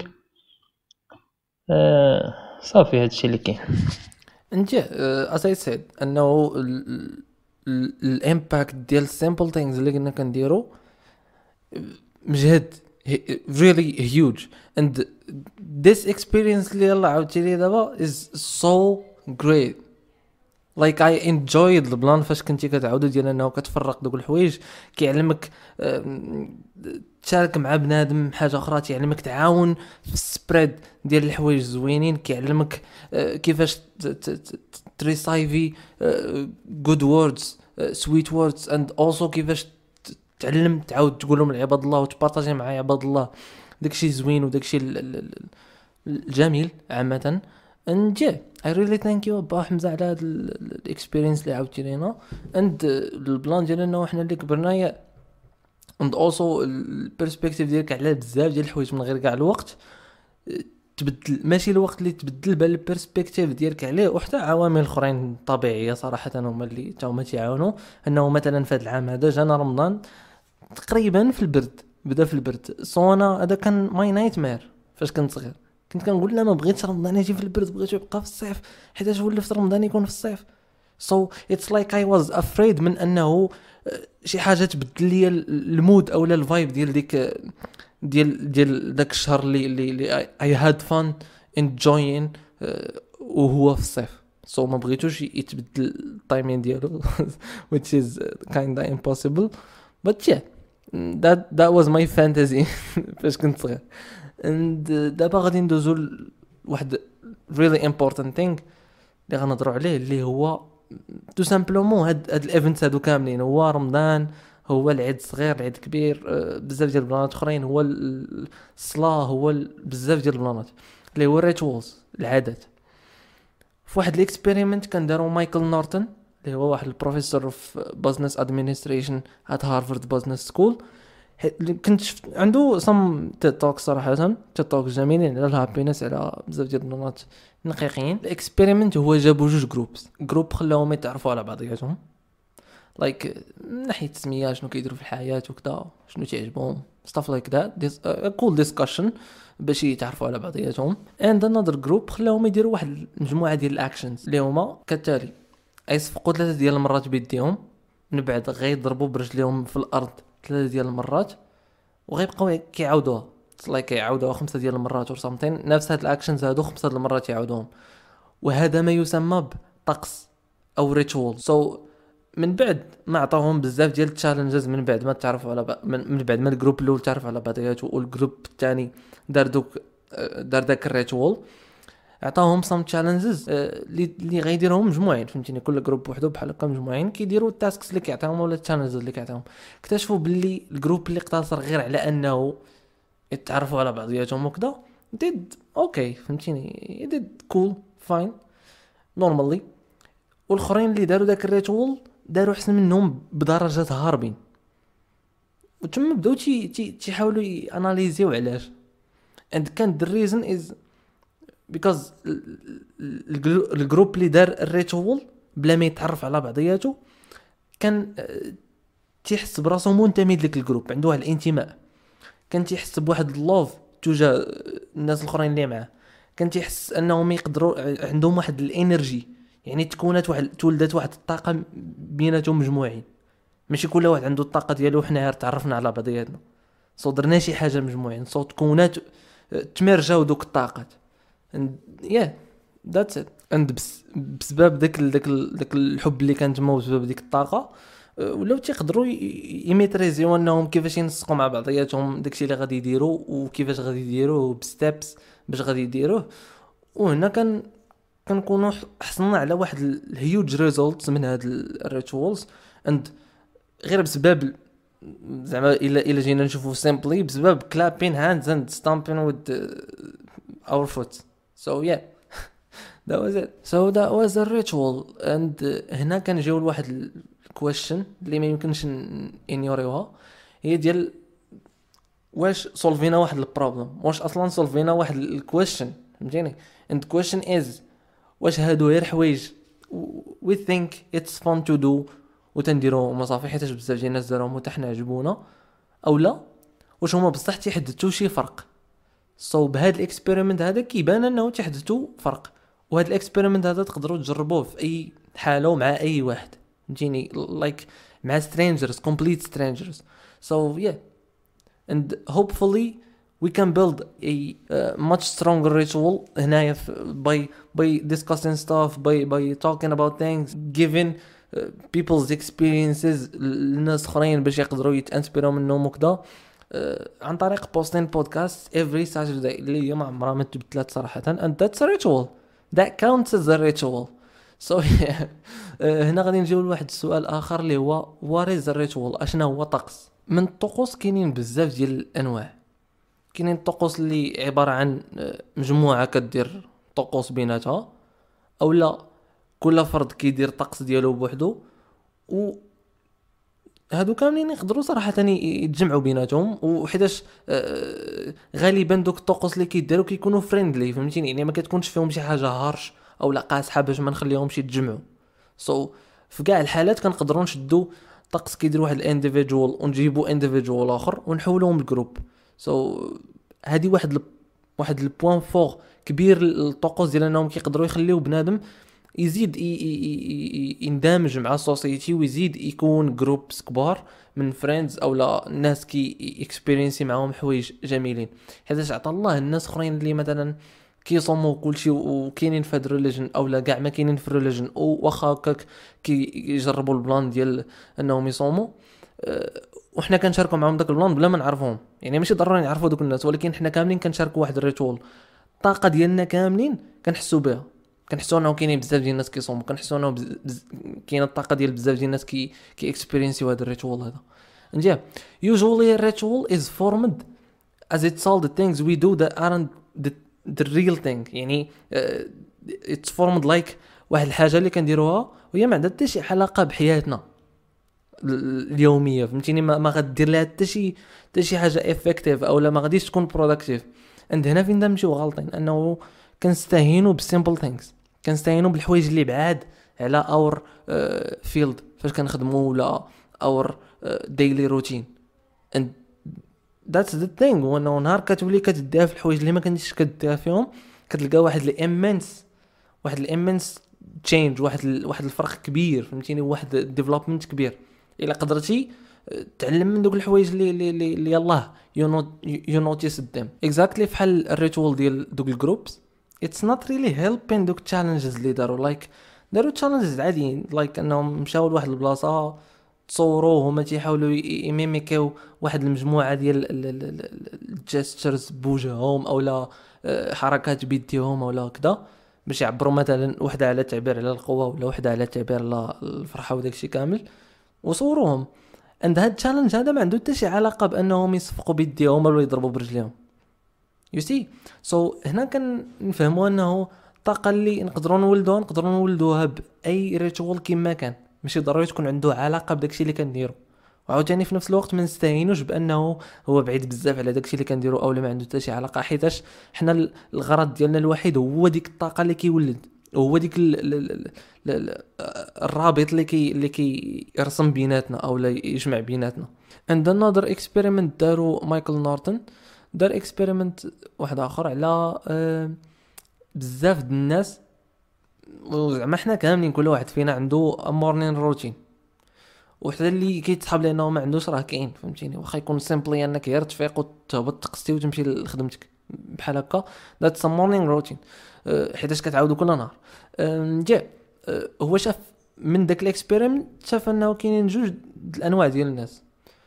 صافي هادشي اللي كاين. انت as I said انه الامباكت ديال simple things اللي كنا كنديرو مجهد really huge and this experience اللي يلا عاودتي لي دابا is so great like I enjoyed البلان فاش كنتي كتعاودو ديال انه كتفرق دوك الحوايج كيعلمك تشارك مع بنادم حاجه اخرى كيعلمك تعاون في السبريد ديال الحوايج زوينين كيعلمك كيفاش تريسايفي good words sweet words and also كيفاش تعلم تعاود تقولهم لعباد الله وتبارطاجي مع عباد الله داكشي زوين وداكشي الجميل عامه. and yeah I really thank you با حمزة على هاد الاكسبيرينس اللي عاودتي لينا and البلان ديالنا وحنا اللي كبرنا and also البيرسبكتيف ديالك على بزاف ديال الحوايج من غير كاع الوقت تبدل ماشي الوقت اللي تبدل بل البيرسبكتيف ديالك عليه وحتى عوامل اخرين طبيعيه صراحه هما اللي تاهما تيعاونوا انه مثلا في هذا العام هذا جانا رمضان تقريبا في البرد بدا في البرد صونا هذا كان ماي نايت مير فاش كنت صغير كنت كنقول لا ما بغيتش رمضان يجي في البرد بغيت يبقى في الصيف حيت ولفت رمضان يكون في الصيف so it's like I was afraid من انه شي حاجه تبدل لي المود اولا الفايب ديال ديك ديال داك الشهر اللي اي هاد فان انجوين وهو في الصيف. ما بغيتوش يتبدل التايمين ديالو which is kind of impossible but yeah that was my fantasy فاش كنت صغير. and دابا غادي ندوزو لواحد really important thing اللي غنهضروا عليه اللي هو تو سامبلومون هاد الايفنتس هادو كاملين. هو رمضان، هو العيد الصغير، العيد الكبير، بزاف ديال البلانات اخرين، هو الصلاه، هو بزاف ديال البلانات اللي هو الريتوالز، العادات. في واحد الاكسبيريمنت كان داروا مايكل نورتون اللي هو واحد البروفيسور في بزنس ادمنستريشن ات هارفارد بزنس سكول. كنت شفت عنده سم توك صراحه، توك جميلين على الهابينس، على بزاف ديال البلانات نقيقين. الاكسبيريمنت هو جابوا جوج جروب خلاهم يتعرفوا على بعضياتهم، لايك من ناحيه التسميه، شنو كيديروا في الحياه وكذا، شنو تعجبهم، stuff like that cool discussion باش يتعرفوا على بعضياتهم. and another group خلاهم يديروا واحد المجموعه ديال الاكشنز اللي هما كالتالي: يصفقوا 3 ديال المرات بيديهم، من بعد غيضربوا برجليهم في الارض 3 ديال المرات، وغيبقاو كيعاودوها كيعاودوها 5 ديال المرات or something. نفس هاد الاكشنز هادو 5 ديال المرات يعاودوهم، وهذا ما يسمى بطقس او ريتوال. من بعد ما عطاوهم بزاف ديال التشالنجز، من بعد ما تعرفوا على من بعد ما الجروب الاول تعرف على بعضياته والجروب الثاني دار داك الريتوال، عطاهم سام تشالنجز اللي غيديرهم مجموعين، فهمتيني؟ كل جروب وحده بحال هكا مجموعين كيديروا التاسكس اللي كيعطيهم ولا التشالنجز اللي كيعطيهم. اكتشفوا باللي الجروب اللي اقتصر غير على انه يتعرفوا على بعضياتهم وكذا ديد اوكي، فهمتيني؟ ديد كول فاين نورمالي، والاخرين اللي داروا داك الريتوال داروا احسن منهم بدرجات هاربين. وتم بداو تيحاولوا ياناليزيو علاش. and كان the reason is because الجروب اللي دار الريتوال بلا ما يتعرف على بعضياته كان تيحس براسو منتمي لك الجروب، عنده واحد الانتماء، كان تيحس بواحد اللوف تجاه الناس الاخرين اللي معاه، كان تيحس انهم يقدروا عندهم واحد الانرجي، يعني تولدت واحد الطاقه بيناتهم مجموعين، ماشي كل واحد عنده الطاقه ديالو وحنا تعرفنا على بعضياتنا، درنا شي حاجه مجموعين، تكونات تمرجاو دوك الطاقات. yeah that's it. and بسبب داك الحب اللي كان تما، وبسبب ديك الطاقه ولاو تيقدروا يميتريزيو انهم كيفاش ينسقوا مع بعضياتهم داكشي اللي غادي يديروا وكيفاش غادي يديروه بستيبس باش غادي يديروه. وهنا كنكونوا حصلنا على واحد الهيوج ريزولتس من هاد الريتوالز. اند غير بسبب زعما الا جينا نشوفوا سيمبلي بسبب clapping hands and stamping with our foot. so yeah that was it. so that was a ritual. and هنا كنجيو لواحد الكويشن اللي ما يمكنش انيوريوها، هي ديال واش سولفينا واحد البروبلم، واش اصلا سولفينا واحد الكويشن، فهمتيني؟ and the question is واش هادو غير حوايج we think it's fun to do وتنديروهم صافي حيت بزاف ديال الناس داروهم وحتى حنا عجبونا، او لا واش هما بصح تيحدثوا شي فرق. بهاد الاكسبيريمنت هذا كيبان انه تيحدثوا فرق، وهاد الاكسبيريمنت هذا تقدروا تجربوه في اي حاله ومع اي واحد، فهمتيني؟ لايك مع strangers, complete strangers. so yeah and hopefully we can build a much stronger ritual هنايا by discussing stuff, by talking about things, giving people's experiences للناس اخرين باش يقدروا يتانسبيروا منهم وكذا، عن طريق بوستين بودكاست every Saturday اللي هي ما عمرها ما تبدلت صراحه. and that's a ritual that counts as a ritual. so yeah. هنا غادي نجيو لواحد السؤال اخر اللي هو what is a ritual؟ اشنا هو طقس؟ من الطقوس كاينين بزاف ديال الانواع. كاينين الطقوس اللي عباره عن مجموعه كدير طقوس بيناتها، او لا كل فرد كيدير طقس ديالو بوحدو، و هادو كاملين يقدروا صراحه يتجمعوا بيناتهم. وحيتاش غالبا دوك الطقوس اللي كيديروا كيكونوا فريندلي، فهمتيني؟ يعني ما كتكونش فيهم شي حاجه هارش او لا قاصحه باش ما نخليهمش يتجمعوا. في كاع الحالات كنقدروا نشدوا طقس كيدير واحد الانديفيدوال ونجيبوا انديفيدوال اخر ونحولوهم لجروب. هذه واحد البوين فور كبير للطقوس ديال انهم كيقدروا يخليو بنادم يزيد يندمج مع السوسيتي، ويزيد يكون جروبس كبار من فريندز او لا ناس كي اكسبيرينسي معاهم حوايج جميلين. حيت عطى الله الناس اخرين اللي مثلا كيصوموا كلشي وكاينين في هاد الريليجن او لا كاع ما كاينين في الريليجن، او واخا هكاك كيجربوا البلان ديال انهم يصوموا، وحنا كنشاركوا معاهم داك البلان بلا ما نعرفوهم. يعني ماشي ضروري نعرفوا دوك الناس، ولكن حنا كاملين كنشاركوا واحد الريتول. الطاقه ديالنا كاملين كنحسوا بها، كنحسوا انه كاينين بزاف ديال الناس كيصوموا، كنحسوا انه كاينه الطاقه ديال بزاف ديال الناس كي اكسبيرينسيو هذا الريتول هذا. نجي usually a ritual is formed as it's all the things we do that aren't the real thing. يعني it's formed like واحد الحاجه اللي كنديروها وهي ما عندها حتى شي علاقه بحياتنا اليوميه، فهمتيني؟ ما غدير لها حتى شي حاجه افكتيف او لا ما غاديش تكون بروداكتيف. عند هنا فين نمشيو غالطين، انه كنستهينوا بالسيمبل ثينكس، كنستهينوا بالحوايج اللي بعاد على اور فيلد فاش كنخدموا ولا اور ديلي روتين. and that's the thing. وانه نهار كتولي كتديها في الحوايج اللي ما كنتيش كديها فيهم، كتلقى واحد الامنس تشينج، واحد الفرق كبير، فهمتيني؟ واحد ديفلوبمنت كبير. الا قدرتي تعلم من دوك الحوايج اللي يلاه يو نوتيس ديم اكزاكتلي بحال الريتوال ديال دوك الجروبس. it's not really helping دوك التشالنجز اللي داروا تشالنجز عاديين، انهم مشاو لواحد البلاصه تصوروا هما تيحاولوا يميميكيو واحد المجموعه ديال الجيسترز بوجههم او لا حركات بيديهم او لا كذا، باش يعبروا مثلا وحده على تعبير على القوه ولا وحده على تعبير على الفرحه وداكشي كامل، وصوروهم. عند هاد التشالنج هذا ما عنده حتى شي علاقه بانهم يصفقوا بيديهم ولا يضربوا برجليهم. يو سي هنا كنفهموا انه الطاقه اللي نقدروا نولدوها باي ريتوال كما كان، ماشي ضروري تكون عنده علاقه بداكشي اللي كنديرو. وعاوتاني في نفس الوقت ما نستهينوش بانه هو بعيد بزاف على داكشي اللي كنديرو او ما عنده حتى شي علاقه، حيتاش حنا الغرض ديالنا الوحيد هو ديك الطاقه اللي كيولد، وهو ديك الرابط اللي يرسم بيناتنا او لا يجمع بيناتنا. عند another experiment دارو مايكل نورتون، دار اكسبيريمنت واحد اخر على بزاف د الناس، وزعما حنا كاملين كل واحد فينا عنده مورنين روتين، وحتى اللي كيتصحاب لانه ما عندوش راه كاين، فهمتيني؟ واخا يكون سيمبلي انك غير تفيق وتهبط تقصتي وتمشي لخدمتك بحال هكا، ذاتس مورنين روتين، حيتاش كتعاودو كل نهار. جا هو شاف من داك الاكسبيريمنت، شاف انه كاينين جوج الانواع ديال الناس،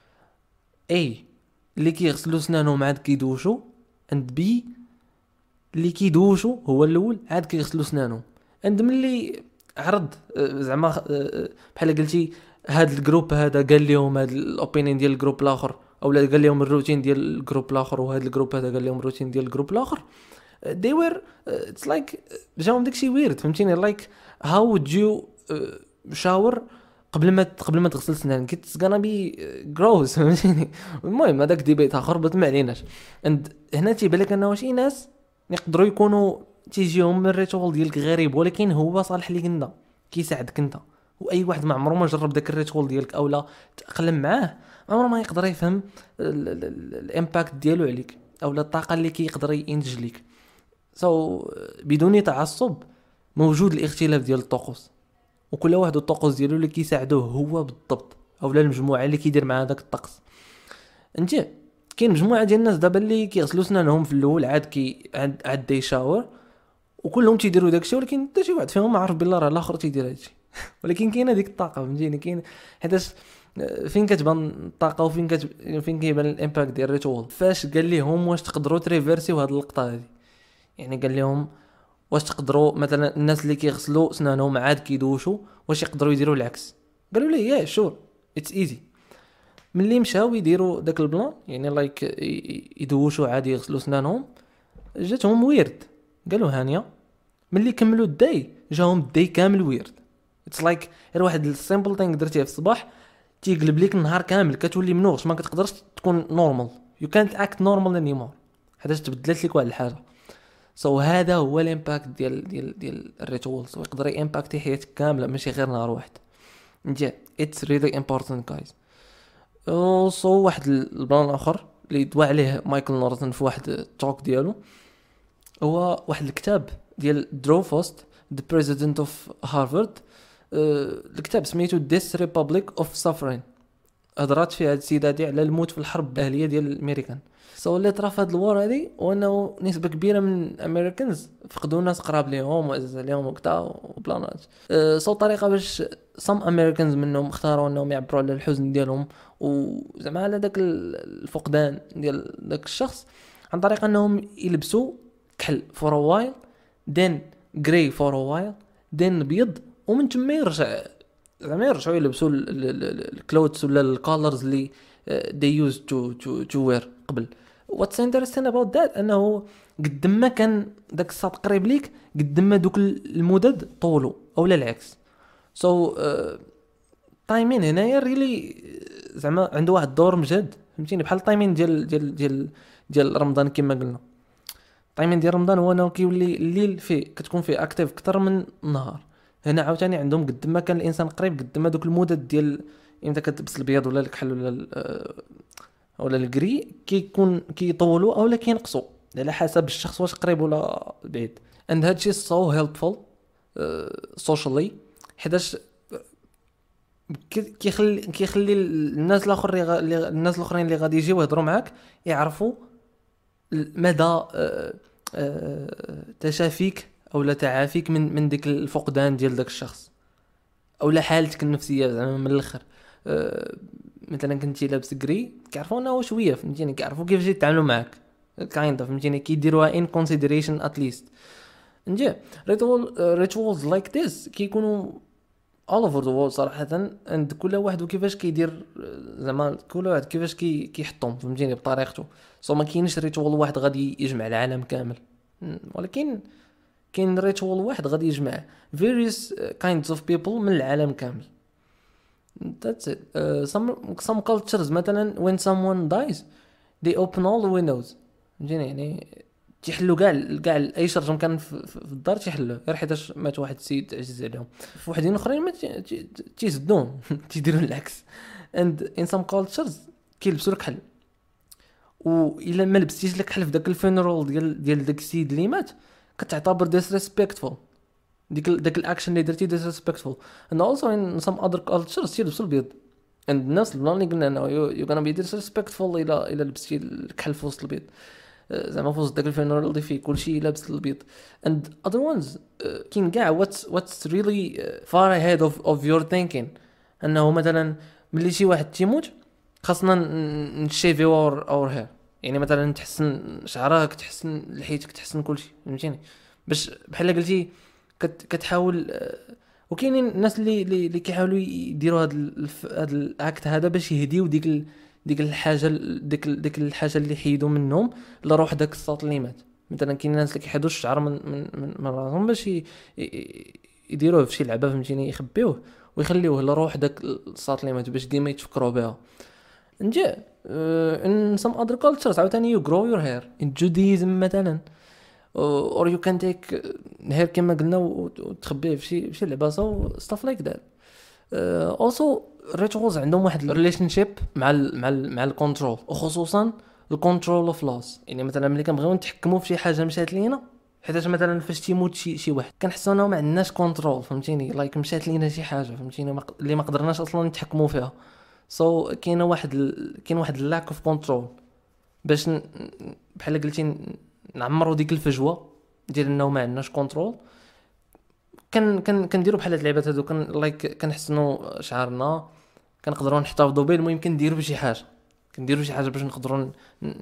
اي اللي كيغسلوا سنانهم عاد كيدوشوا، عند بي اللي كيدوشوا هو الاول عاد كيغسلوا سنانهم. عند ملي عرض زعما بحال قلتي هاد الجروب هذا قال لهم هاد الاوبينيون ديال الجروب الاخر، اولا قال لهم الروتين ديال الجروب الاخر، وهاد الجروب هذا قال لهم الروتين ديال الجروب الاخر، they were it's like جاهم داكشي ويرد، فهمتيني؟ like how would you shower قبل ما تغسل سنانك، it's gonna be gross، فهمتيني؟ المهم هذاك ديبيت اخر بس ما عليناش. هنا تيبان لك انه شي ناس يقدروا يكونوا تيجيهم من الريتوال ديالك غريب، ولكن هو صالح ليك انت، كيساعدك انت. واي واحد ما عمره ما جرب داك الريتوال ديالك او لا تاقلم معاه، عمره ما يقدر يفهم الامباكت ديالو عليك او الطاقه اللي كيقدر ينتج لك. بدون تعصب، موجود الاختلاف ديال الطقوس، وكل واحد الطقوس ديالو اللي كيساعدوه هو بالضبط، او لا المجموعه اللي كيدير مع داك الطقس. انت كاين مجموعه ديال الناس دابا اللي كيغسلوا سنانهم في الاول عاد دي شاور، وكلهم تيديروا داكشي، ولكن حتى شي واحد فيهم ما عارف بالله راه الاخر تيدير هادشي. ولكن كاينه ديك الطاقه، فهمتيني؟ كاين حيتاش فين كتبان الطاقه فين كيبان الامباكت ديال الريتوال. فاش قال لهم واش تقدروا تريفيرسيو هاد اللقطه هذه، يعني قال لهم واش تقدروا مثلا الناس اللي كيغسلوا سنانهم عاد كيدوشوا واش يقدروا يديروا العكس؟ قالوا لي يا شور اتس ايزي. ملي مشاو يديروا داك البلان، يعني لايك يدوشوا عادي يغسلوا سنانهم، جاتهم ويرد. قالوا هانيه ملي كملوا الداي جاهم الداي كامل ويرد. اتس لايك غير واحد السيمبل ثينك درتيه في الصباح تيقلب ليك النهار كامل، كتولي منوغش، ما كتقدرش تكون نورمال، يو كانت اكت نورمال انيمور، حيت تبدلت لك واحد الحاجه. هذا هو الامباكت ديال الريتوالز، ويقدر يامباكتي حياتك كامله ماشي غير نهار واحد. نجي اتس ريلي امبورطانت جايز. واحد البلان اخر اللي دوا عليه مايكل نورتون في واحد التوك ديالو، هو واحد الكتاب ديال دروفوست the president of Harvard. الكتاب سميتو This Republic of Suffering. هضرات فيها هاد السيدة هادي على الموت في الحرب الأهلية ديال الأمريكان. اللي طرا في هاد الوار هادي وانه نسبة كبيرة من الامريكانز فقدوا ناس قراب ليهم وعزاز عليهم وكذا وبلانات. طريقة باش some Americans منهم اختاروا انهم يعبروا على الحزن ديالهم وزعما على داك الفقدان ديال داك الشخص عن طريق انهم يلبسوا كحل for a while then grey for a while then بيض ومن ثم يرجعوا يلبسوا الكلوتس ولا الكولرز اللي they used to wear قبل. what's interesting about that انه قد ما كان داك الساط قريب ليك قد ما دوك المدد طولوا او لا العكس. تايمين هنايا ريلي زعما عنده واحد الدور مجهد فهمتيني بحال التايمين ديال رمضان كما قلنا. التايمين ديال رمضان هو انه كيولي الليل فيه كتكون فيه اكتيف اكثر من النهار. هنا عاوتاني عندهم قد ما كان الانسان قريب قد ما دوك المدد ديال امتى كتلبس البيض ولا الكحل ولا الكري كيطولوا او لا كينقصوا على حسب الشخص واش قريب ولا بعيد. and هادشي so helpful socially حيتاش كيخلي الناس الاخرين اللي غادي يجيو يهضروا معاك يعرفوا مدى تشافيك او لا تعافيك من ديك الفقدان ديال داك الشخص او لا حالتك النفسيه زعما من الاخر. مثلا كنتي لابس كري كيعرفوا انه شويه فهمتيني كيعرفوا كيفاش يتعاملوا معاك كايندا فهمتيني كيديروها in consideration at least. نجي rituals like this كيكونوا all over the world صراحه عند كل واحد وكيفاش كيدير زعما كل واحد كيفاش كيحطهم فهمتيني بطريقته. ما كاينش ريتوال واحد غادي يجمع العالم كامل ولكن كاين ريتوال واحد غادي يجمع various kinds of people من العالم كامل. That's it. Some cultures مثلا when someone dies they open all the windows يعني تيحلوا كاع اي شرجم كان في الدار تيحلوه غير حيتاش مات واحد السيد عزيز عليهم. في وحدين اخرين ما تيسدوهم تيديروا العكس. and in some cultures كيلبسوا الكحل والا ما لبستيش لك حل في داك الفينرال ديال داك السيد اللي مات كتعتبر disrespectful داك الاكشن اللي درتي disrespectful. and also in some other cultures تيلبسوا البيض and الناس اللي قلنا انه you're gonna be disrespectful الى لبستي الكحل في وسط البيض زعما في وسط داك الفينرال اللي فيه كلشي لابس البيض. and other ones كاين كاع what's really far ahead of your thinking انه مثلا ملي شي واحد تيموت خاصنا نشيفي اور هير يعني مثلا تحسن شعرك تحسن لحيتك تحسن كلشي فهمتيني باش بحال قلتي كتحاول. وكاينين الناس اللي كيحاولوا يديروا هذا الاكت هذا باش يهديو ديك الحاجه ديك الحاجه اللي حيدوا منهم لروح داك الصوت اللي مات. مثلا كاين ناس اللي كيحيدوا الشعر من راسهم باش يديروه في شي لعبه فهمتيني يخبيوه ويخليوه لروح داك الصوت اللي مات باش ديما يتفكروا بها. نجي in some other cultures عاوتاني you grow your hair in Judaism مثلا or you can take hair كما قلنا وتخبيه في شي لعبه stuff like that. also rituals عندهم واحد relationship مع الكنترول وخصوصا الكنترول اوف لوس. يعني مثلا ملي كنبغيو نتحكموا في شي حاجه مشات لينا حيت مثلا فاش تيموت شي واحد كنحسوا انه ما عندناش كنترول فهمتيني لايك مشات لينا شي حاجه فهمتيني اللي ما قدرناش اصلا نتحكموا فيها. كاين واحد اللاك اوف كنترول باش بحال قلتي نعمروا ديك الفجوه ديال انه ما عندناش كنترول. كنديروا بحال هاد اللعبات هادو لايك كنحسنوا شعرنا كنقدروا نحتفظوا به. المهم كنديروا شي حاجه باش نقدروا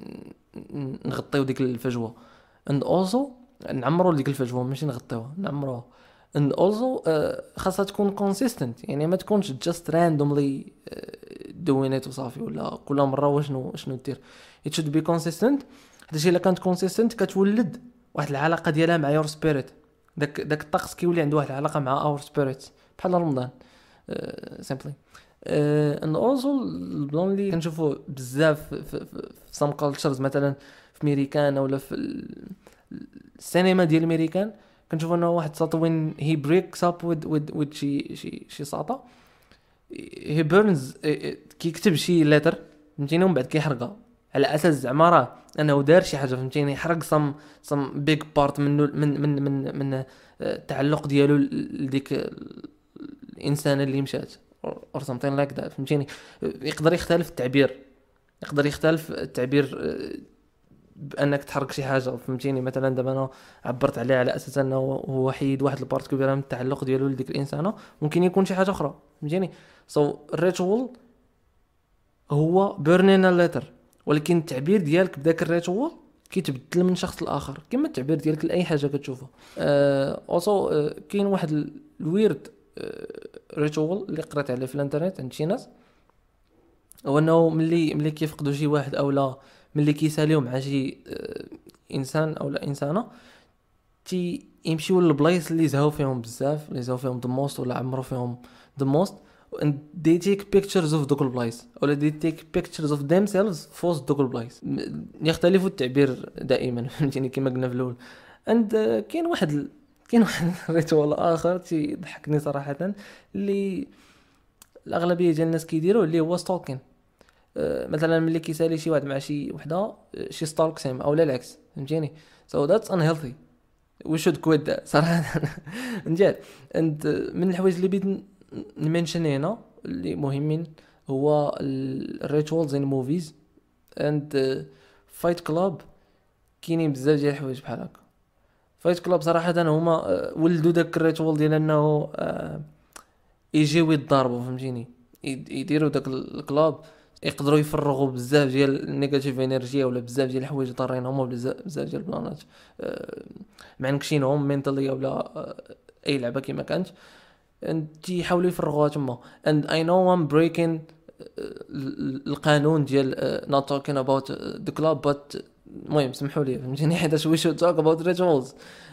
نغطيو ديك الفجوه and also نعمروا ديك الفجوه ماشي نغطيوها نعمروها. and also خاصها تكون consistent يعني ما تكونش just randomly doing it وصافي ولا كل مره وشنو دير. it should be consistent. هادشي الا كانت consistent كتولد واحد العلاقه ديالها مع your spirit. داك الطقس كيولي عنده واحد العلاقه مع our spirits بحال رمضان simply. and also اللي كنشوفوا بزاف في some cultures مثلا في امريكان ولا في السينما ديال الامريكان كنشوف انه واحد ساطو when he breaks up with شي ساطا he burns كيكتب شي letter فهمتيني ومن بعد كيحرقها على اساس زعما راه انه دار شي حاجه فهمتيني، حرق سم بيج بارت منه من التعلق ديالو لديك الانسانه اللي مشات or something like that فهمتيني. يقدر يختلف التعبير، يقدر يختلف التعبير بانك تحرك شي حاجه فهمتيني. مثلا دابا انا عبرت عليه على اساس انه هو حيد واحد البارت كبيره من التعلق ديالو لديك الانسانه، ممكن يكون شي حاجه اخرى فهمتيني. الريتوال هو بيرنينا ليتر، ولكن التعبير ديالك بداك الريتوال كيتبدل من شخص لاخر كما التعبير ديالك لاي حاجه كتشوفها. اوسو كاين واحد الويرد ريتوال اللي قرات عليه في الانترنت عند شي ناس، هو انه ملي كيفقدوا شي واحد او لا ملي كيساليو مع شي انسان او لا انسانه، يمشيو للبلايص اللي زهاو فيهم بزاف، اللي زهاو فيهم the most ولا عمرو فيهم the most، and they take pictures of دوك البلايص ولا they take pictures of themselves في وسط دوك البلايص. يختلف التعبير دائما فهمتيني كما قلنا في الاول. and كاين واحد ريتوال اخر تيضحكني صراحه اللي الاغلبيه ديال الناس كيديروه، اللي هو ستالكين. مثلا ملي كيسالي شي واحد مع شي وحده شي ستالكس هيم او لا العكس فهمتيني. so that's unhealthy, we should quit that صراحه. نجي and من الحوايج اللي بغيت نمنشن هنا اللي مهمين هو الريتوالز ان موفيز اند فايت كلاب. كاينين بزاف ديال الحوايج بحال هكا. فايت كلاب صراحه هما ولدوا داك الريتوال ديال انه يجيو يتضاربوا فهمتيني، يديروا داك الكلاب يقدروا يفرغوا بزاف ديال النيجاتيف انرجي ولا بزاف ديال الحوايج ضارينهم ولا بزاف ديال البلانات معنكشينهم مينتالي ولا اي لعبه كما كانت، تيحاولوا يفرغوها تما. and I know I'm breaking القانون ديال not talking about the club but المهم سمحوا لي فهمتيني حيت we should talk about rituals.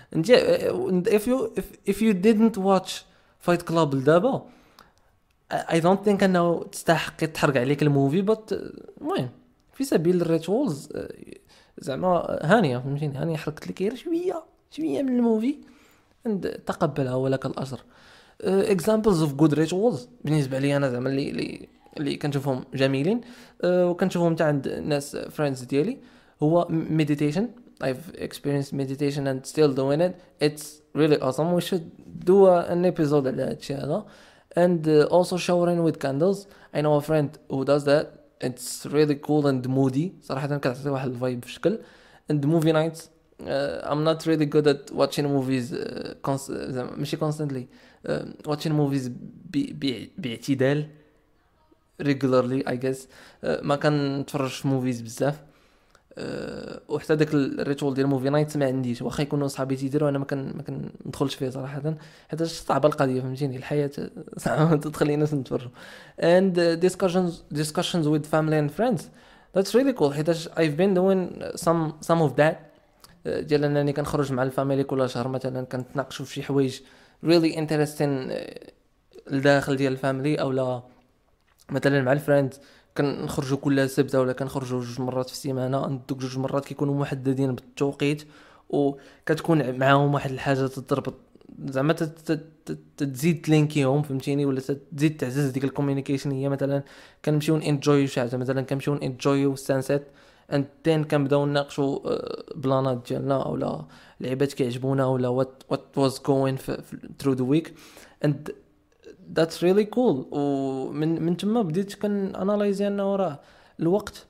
if you didn't watch Fight Club لدابا I don't think انه تستحق تحرق عليك الموفي، but المهم في سبيل الريتوالز زعما هانيه فهمتيني، هانيه حرقت لك غير شويه من الموفي تقبلها ولك الاجر. examples of good rituals بالنسبه لي انا زعما اللي كنشوفهم جميلين وكنشوفهم حتى عند ناس friends ديالي هو meditation. I've experienced meditation and still doing it. It's really awesome. We should do an episode على هادشي هذا. and also showering with candles. I know a friend who does that. It's really cool and moody صراحه، كتعطي واحد الفايب في شكل. and movie nights. I'm not really good at watching movies ماشي constantly watching movies باعتدال regularly I guess. ما كنتفرج في موفيز بزاف وحتى داك الريتوال ديال موفي نايت ما عنديش، واخا يكونوا صحابي تيديروا انا ما كندخلش فيه صراحه حيت صعبه القضيه فهمتيني، الحياه صعبه تدخل الناس نتفرجوا. and discussions with family and friends, that's really cool حيت I've been doing some of that ديال انني كنخرج مع الفاميلي كل شهر مثلا كنتناقشوا في شي حوايج really interesting الداخل ديال الفاميلي، او لا مثلا مع الفريندز كنخرجوا كل سبت ولا كنخرجوا 2 مرات في السيمانه. دوك 2 مرات كيكونوا محددين بالتوقيت وكتكون معاهم واحد الحاجه تضرب زعما تزيد تلينكيهم فهمتيني، ولا تزيد تعزز ديك الكوميونيكيشن. هي مثلا كنمشيو انجوي شي حاجه، مثلا كنمشيو انجوي السانسيت and then كنبداو نناقشوا بلانات ديالنا اولا لعيبات كيعجبونا ولا what was going through the week and that's really cool. ومن تما بديت كناناليزي انه راه الوقت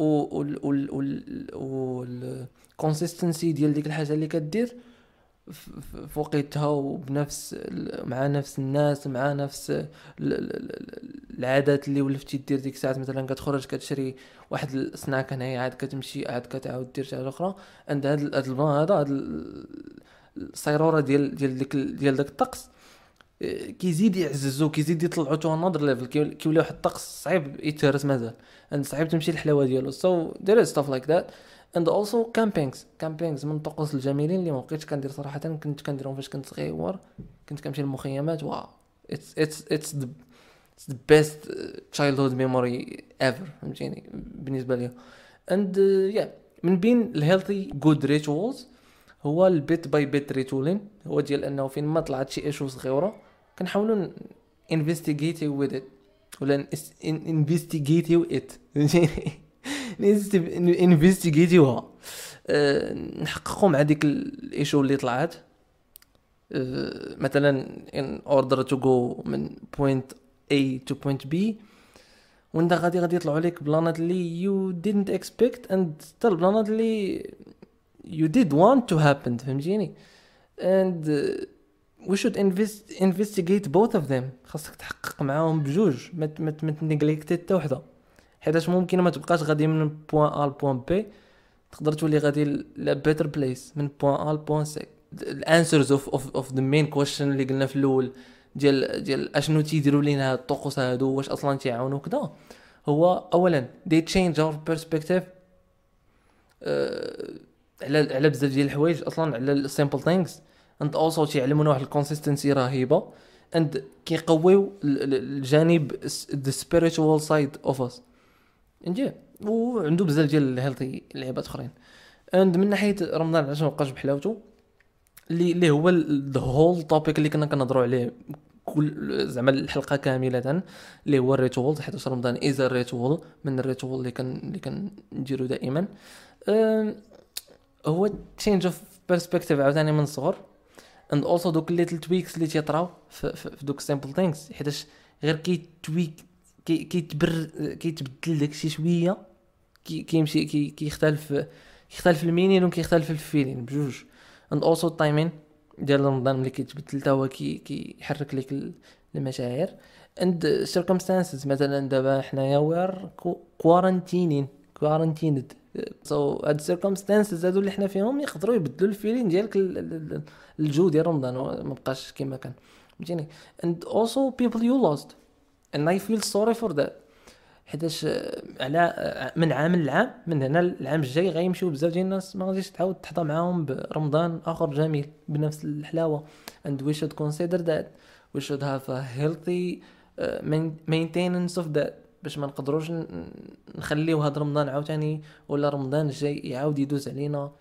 والكونسيستنسي ديال ديك الحاجه اللي كدير في وقتها وبنفس مع نفس الناس مع نفس العادات اللي ولفتي دير ديك الساعات. مثلا كتخرج كتشري واحد السناك هنايا عاد كتمشي عاد كتعاود دير شي حاجه اخرى. عند هذا البلان هذا الصيروره ديال داك الطقس كيزيد يعززو كيزيد يطلعو تو انذر ليفل، كيولي واحد الطقس صعيب يتهرس مازال صعيب تمشي الحلاوه ديالو. so there is stuff like that. and also campings من الطقوس الجميلين اللي ما بقيتش كندير صراحه، كنت كنديرهم فاش كنت صغير، كنت كنمشي للمخيمات. واو it's the best childhood memory ever فهمتيني بالنسبه لي. and yeah من بين الهيلثي جود ريتوالز هو البيت باي بيت ريتولين، هو ديال انه فين ما طلعت شي ايشو صغيره كنحاولوا انفستيغيتيو وذ ات ولا انفستيغيتيو ات انفستيغيتيوها، نحققوا مع ديك الايشو اللي طلعت. مثلا in order to go من point A to point B، وانت غادي يطلعوا لك بلانات اللي you didn't expect and still بلانات اللي you did want to happen، فهمتيني؟ and we should investigate both of them. خاصك تحقق معاهم بجوج، ما تنيغليكتي حتى وحده، حيتاش ممكن ما تبقاش غادي من بوين A لبوين B، تقدر تولي غادي ل better place من بوين A لبوين C. الانسرز اوف ذا مين كويشن اللي قلنا في الاول ديال اشنو تيديروا لينا الطقوس هادو، واش اصلا تيعاونوا كذا. هو اولا they change our perspective على بزاف ديال الحوايج، اصلا على simple things، and also تيعلمونا واحد الكونسيستنسي رهيبه، and كيقويو الجانب the spiritual side of us انجي، وعنده بزاف ديال الهيلثي لعبات اخرين. and من ناحيه رمضان علاش ما بقاش بحلاوته، اللي هو the whole topic اللي كنا كنهضروا عليه كل زعما الحلقه كامله، اللي هو الريتوال، حيت رمضان از الريتوال من الريتوال اللي كنديرو دائما. هو change of perspective عاوتاني من الصغر، and also دوك little tweaks اللي تيطراو في دوك simple things، حيتاش غير كيتبدل داكشي شويه، كيمشي كيختلف المينين وكيختلف الفيلين بجوج. and also timing ديال رمضان اللي كيتبدل تا هو كيحرك لك المشاعر. and circumstances، مثلا دابا حنايا وير quarantined so هاد circumstances هادو اللي حنا فيهم يقدروا يبدلوا الفيلين ديالك الجو ديال رمضان، ما بقاش كما كان، فهمتيني؟ and also people you lost and I feel sorry for that، حيتاش على من عام لعام، من هنا العام الجاي غيمشيو بزاف ديال الناس ما غاديش تعاود تحظى معاهم برمضان اخر جميل بنفس الحلاوه. and we should consider that we should have a healthy maintenance of that، باش ما نقدروش نخليو هذا رمضان عاوتاني ولا رمضان الجاي يعاود يدوز علينا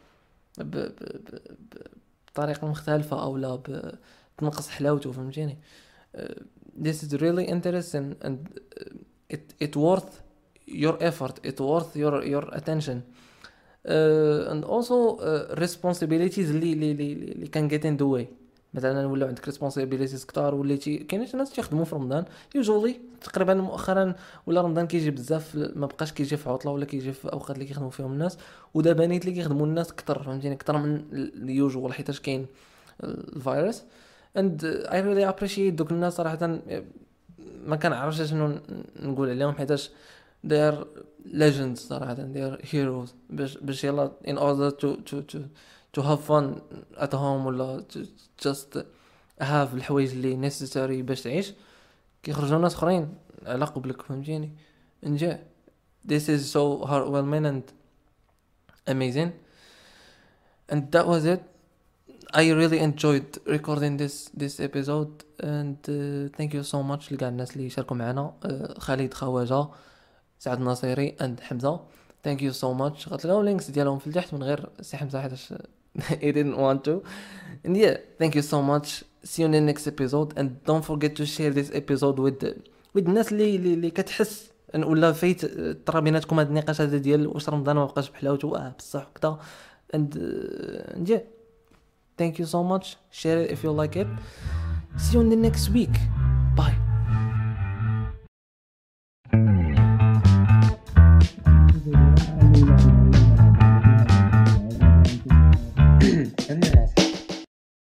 بطريقه مختلفه او لا تنقص حلاوته، فهمتيني؟ this is really interesting and it worth your effort, it worth your attention, and also responsibilities اللي can get in the way. مثلا ولا عندك responsibilities كتار، وليتي كاينين ناس تيخدموا في رمضان usually تقريبا مؤخرا، ولا رمضان كيجي بزاف، ما بقاش كيجي في عطله ولا كيجي في اوقات اللي كيخدموا فيهم الناس، ودابا نيت اللي كيخدموا الناس كتر، فهمتيني؟ كتر من اليوجوال حيتاش كاين الفيروس. and I really appreciate دوك الناس صراحه، ما كنعرفش شنو نقول عليهم، حيتاش they are legends صراحه، they are heroes، باش يلا in order to have fun at home ولا just have الحوايج اللي necessary باش تعيش، كيخرجوا ناس اخرين على قبلك، فهمتيني؟ انجا this is so heartwarming and amazing, and that was it. I really enjoyed recording this episode, and thank you so much لكاع الناس اللي شاركوا معنا، خالد خواجه، سعد ناصيري and حمزه. thank you so much. غتلقاو اللينكس ديالهم في التحت من غير سي حمزه حيت he didn't want to. and yeah, thank you so much. see you in the next episode, and don't forget to share this episode with الناس اللي كتحس ولا فايت طرا بيناتكم هاد النقاش هذا ديال واش رمضان ما بقاش بحلاوته بصح وكذا. and yeah, thank you so much. Share it if you like it. See you in the next week.